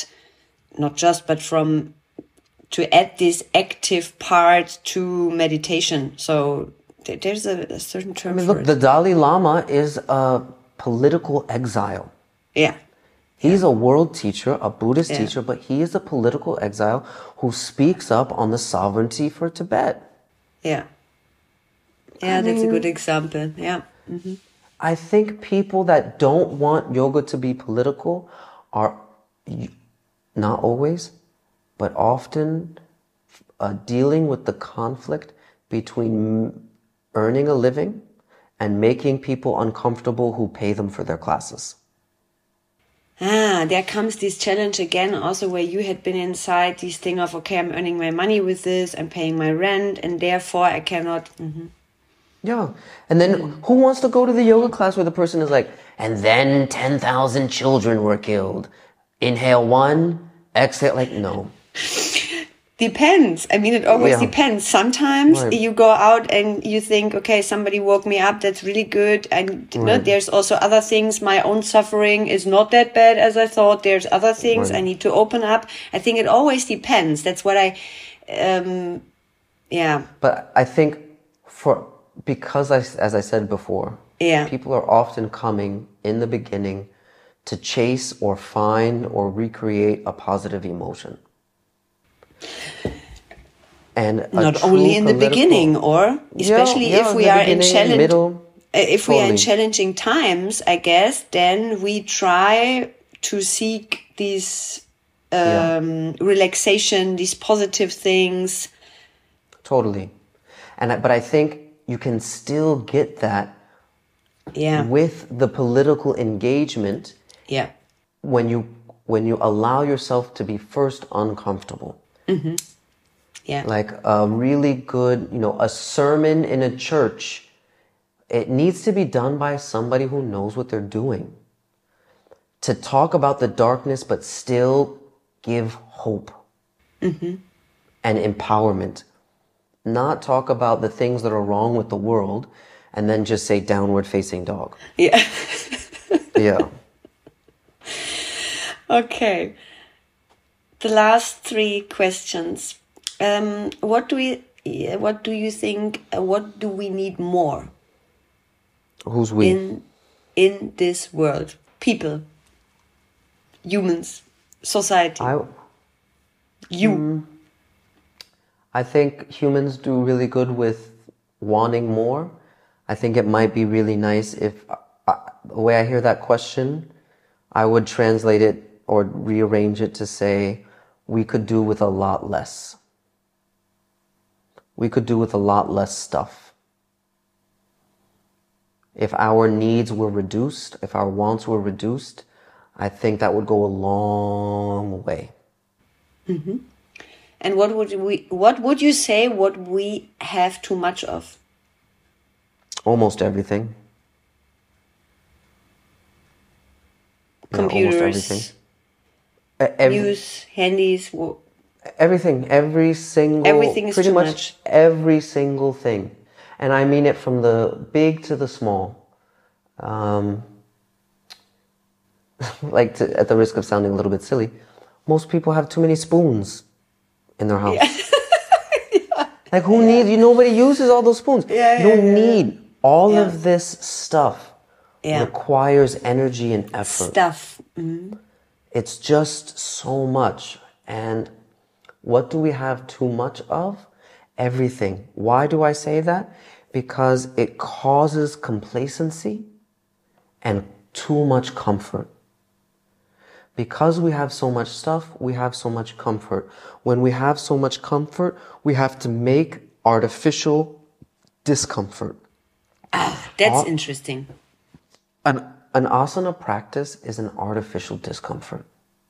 to add this active part to meditation. So there's a certain term for it. The Dalai Lama is a political exile. Yeah. He's a world teacher, a Buddhist teacher, but he is a political exile who speaks up on the sovereignty for Tibet. Yeah. Yeah, that's a good example. Yeah. I think people that don't want yoga to be political are, not always, but often dealing with the conflict between earning a living and making people uncomfortable who pay them for their classes. There comes this challenge again, also where you had been inside this thing of, okay, I'm earning my money with this, I'm paying my rent, and therefore I cannot. Yeah. And then who wants to go to the yoga class where the person is like, and then 10,000 children were killed. Inhale 1, exhale, like, no. Depends. I mean, it always depends. Sometimes you go out and you think, okay, somebody woke me up. That's really good. And there's also other things. My own suffering is not that bad as I thought. There's other things I need to open up. I think it always depends. That's what Yeah. But I think because as I said before, people are often coming in the beginning to chase or find or recreate a positive emotion. And not only in the beginning, or especially if we are in challenging times, I guess, then we try to seek these relaxation, these positive things. Totally. But I think you can still get that with the political engagement when you allow yourself to be first uncomfortable. Mm-hmm. Yeah. Like a really good, a sermon in a church, it needs to be done by somebody who knows what they're doing. To talk about the darkness, but still give hope and empowerment. Not talk about the things that are wrong with the world and then just say downward facing dog. Yeah. Yeah. Okay. The last 3 questions. What do you think? What do we need more? Who's we? In this world, people, humans, society. I think humans do really good with wanting more. I think it might be really nice if the way I hear that question, I would translate it or rearrange it to say we could do with a lot less. We could do with a lot less stuff. If our needs were reduced, if our wants were reduced, I think that would go a long way. Mm-hmm. And what would you say what we have too much of? Almost everything. Computers, almost everything. News, handies. Everything is pretty much every single thing. And I mean it from the big to the small. At the risk of sounding a little bit silly, most people have too many spoons in their house. Yeah. Like who needs, nobody uses all those spoons. You don't need all of this stuff. Requires energy and effort. Mm-hmm. It's just so much. And what do we have too much of? Everything. Why do I say that? Because it causes complacency and too much comfort. Because we have so much stuff, we have so much comfort. When we have so much comfort, we have to make artificial discomfort. That's interesting. An asana practice is an artificial discomfort.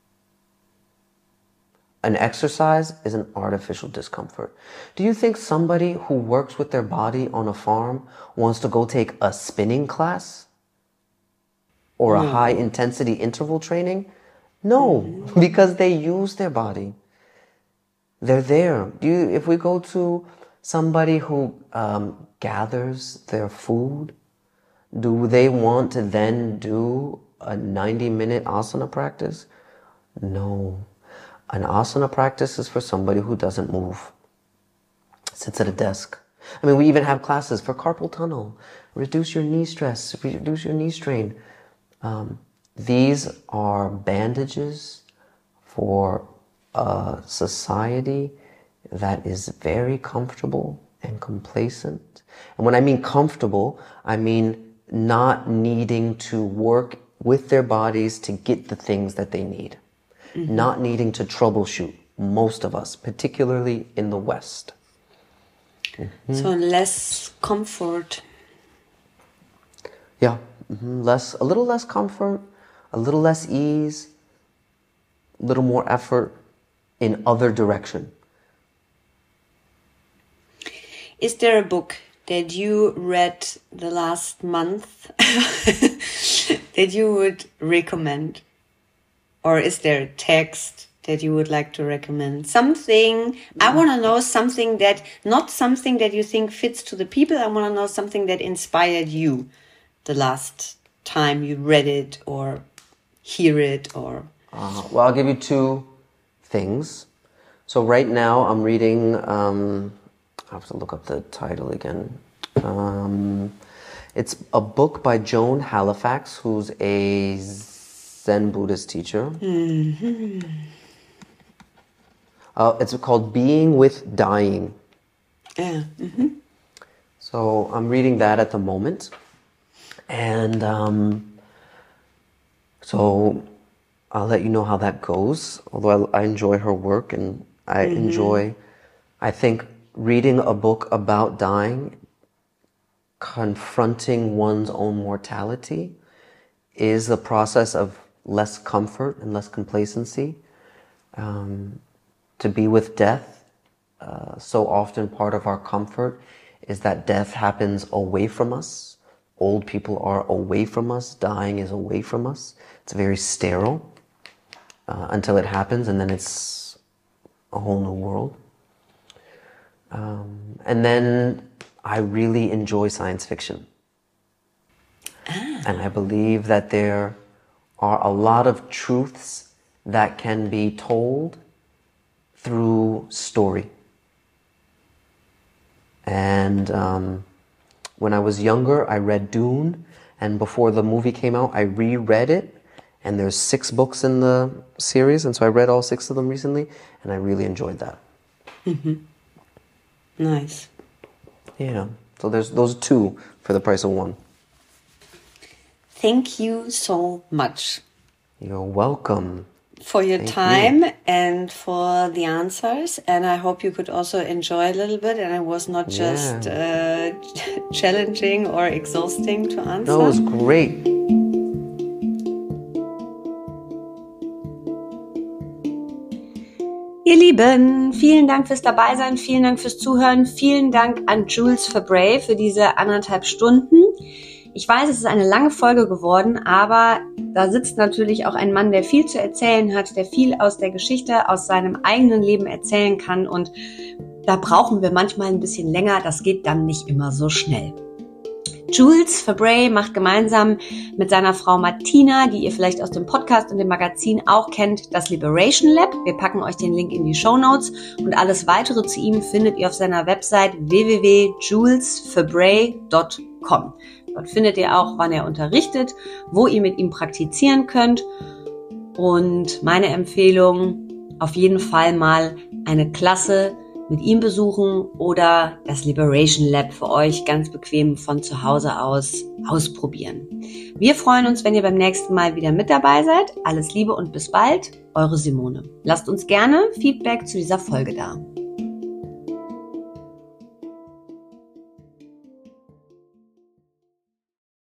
An exercise is an artificial discomfort. Do you think somebody who works with their body on a farm wants to go take a spinning class? Or a high intensity interval training? No, because they use their body. They're there. If we go to somebody who gathers their food, do they want to then do a 90-minute asana practice? No. An asana practice is for somebody who doesn't move, sits at a desk. I mean, we even have classes for carpal tunnel, reduce your knee stress, reduce your knee strain. These are bandages for a society that is very comfortable and complacent. And when I mean comfortable, I mean not needing to work with their bodies to get the things that they need. Mm-hmm. Not needing to troubleshoot, most of us, particularly in the West. Mm-hmm. So less comfort. Yeah, mm-hmm. A little less comfort, a little less ease, a little more effort in other direction. Is there a book that you read the last month that you would recommend? Or is there a text that you would like to recommend? Something, I want to know something that, not something that you think fits to the people. I want to know something that inspired you the last time you read it or hear it or... Well, I'll give you 2 things. So right now I'm reading I have to look up the title again. It's a book by Joan Halifax, who's a Zen Buddhist teacher. Mm-hmm. It's called Being with Dying. Yeah. Mm-hmm. So I'm reading that at the moment. And so I'll let you know how that goes. Although I enjoy her work, and I enjoy, I think, reading a book about dying, confronting one's own mortality, is a process of less comfort and less complacency. To be with death, so often part of our comfort is that death happens away from us. Old people are away from us. Dying is away from us. It's very sterile until it happens, and then it's a whole new world. And then I really enjoy science fiction. And I believe that there are a lot of truths that can be told through story. And when I was younger, I read Dune, and before the movie came out, I reread it, and there's 6 books in the series, and so I read all 6 of them recently, and I really enjoyed that. Mm-hmm. Nice. Yeah, so there's those 2 for the price of 1. Thank you so much. You're welcome. For your time and for the answers, and I hope you could also enjoy a little bit, and it was not just challenging or exhausting to answer. No, it was great. Ihr Lieben, vielen Dank fürs Dabeisein, vielen Dank fürs Zuhören, vielen Dank an Jules Fabray für diese 1,5 Stunden. Ich weiß, es ist eine lange Folge geworden, aber da sitzt natürlich auch ein Mann, der viel zu erzählen hat, der viel aus der Geschichte, aus seinem eigenen Leben erzählen kann, und da brauchen wir manchmal ein bisschen länger, das geht dann nicht immer so schnell. Jules Fabray macht gemeinsam mit seiner Frau Martina, die ihr vielleicht aus dem Podcast und dem Magazin auch kennt, das Liberation Lab. Wir packen euch den Link in die Shownotes, und alles weitere zu ihm findet ihr auf seiner Website www.julesfabray.com. Dort findet ihr auch, wann er unterrichtet, wo ihr mit ihm praktizieren könnt. Und meine Empfehlung, auf jeden Fall mal eine Klasse mit ihm besuchen oder das Liberation Lab für euch ganz bequem von zu Hause aus ausprobieren. Wir freuen uns, wenn ihr beim nächsten Mal wieder mit dabei seid. Alles Liebe und bis bald, eure Simone. Lasst uns gerne Feedback zu dieser Folge da.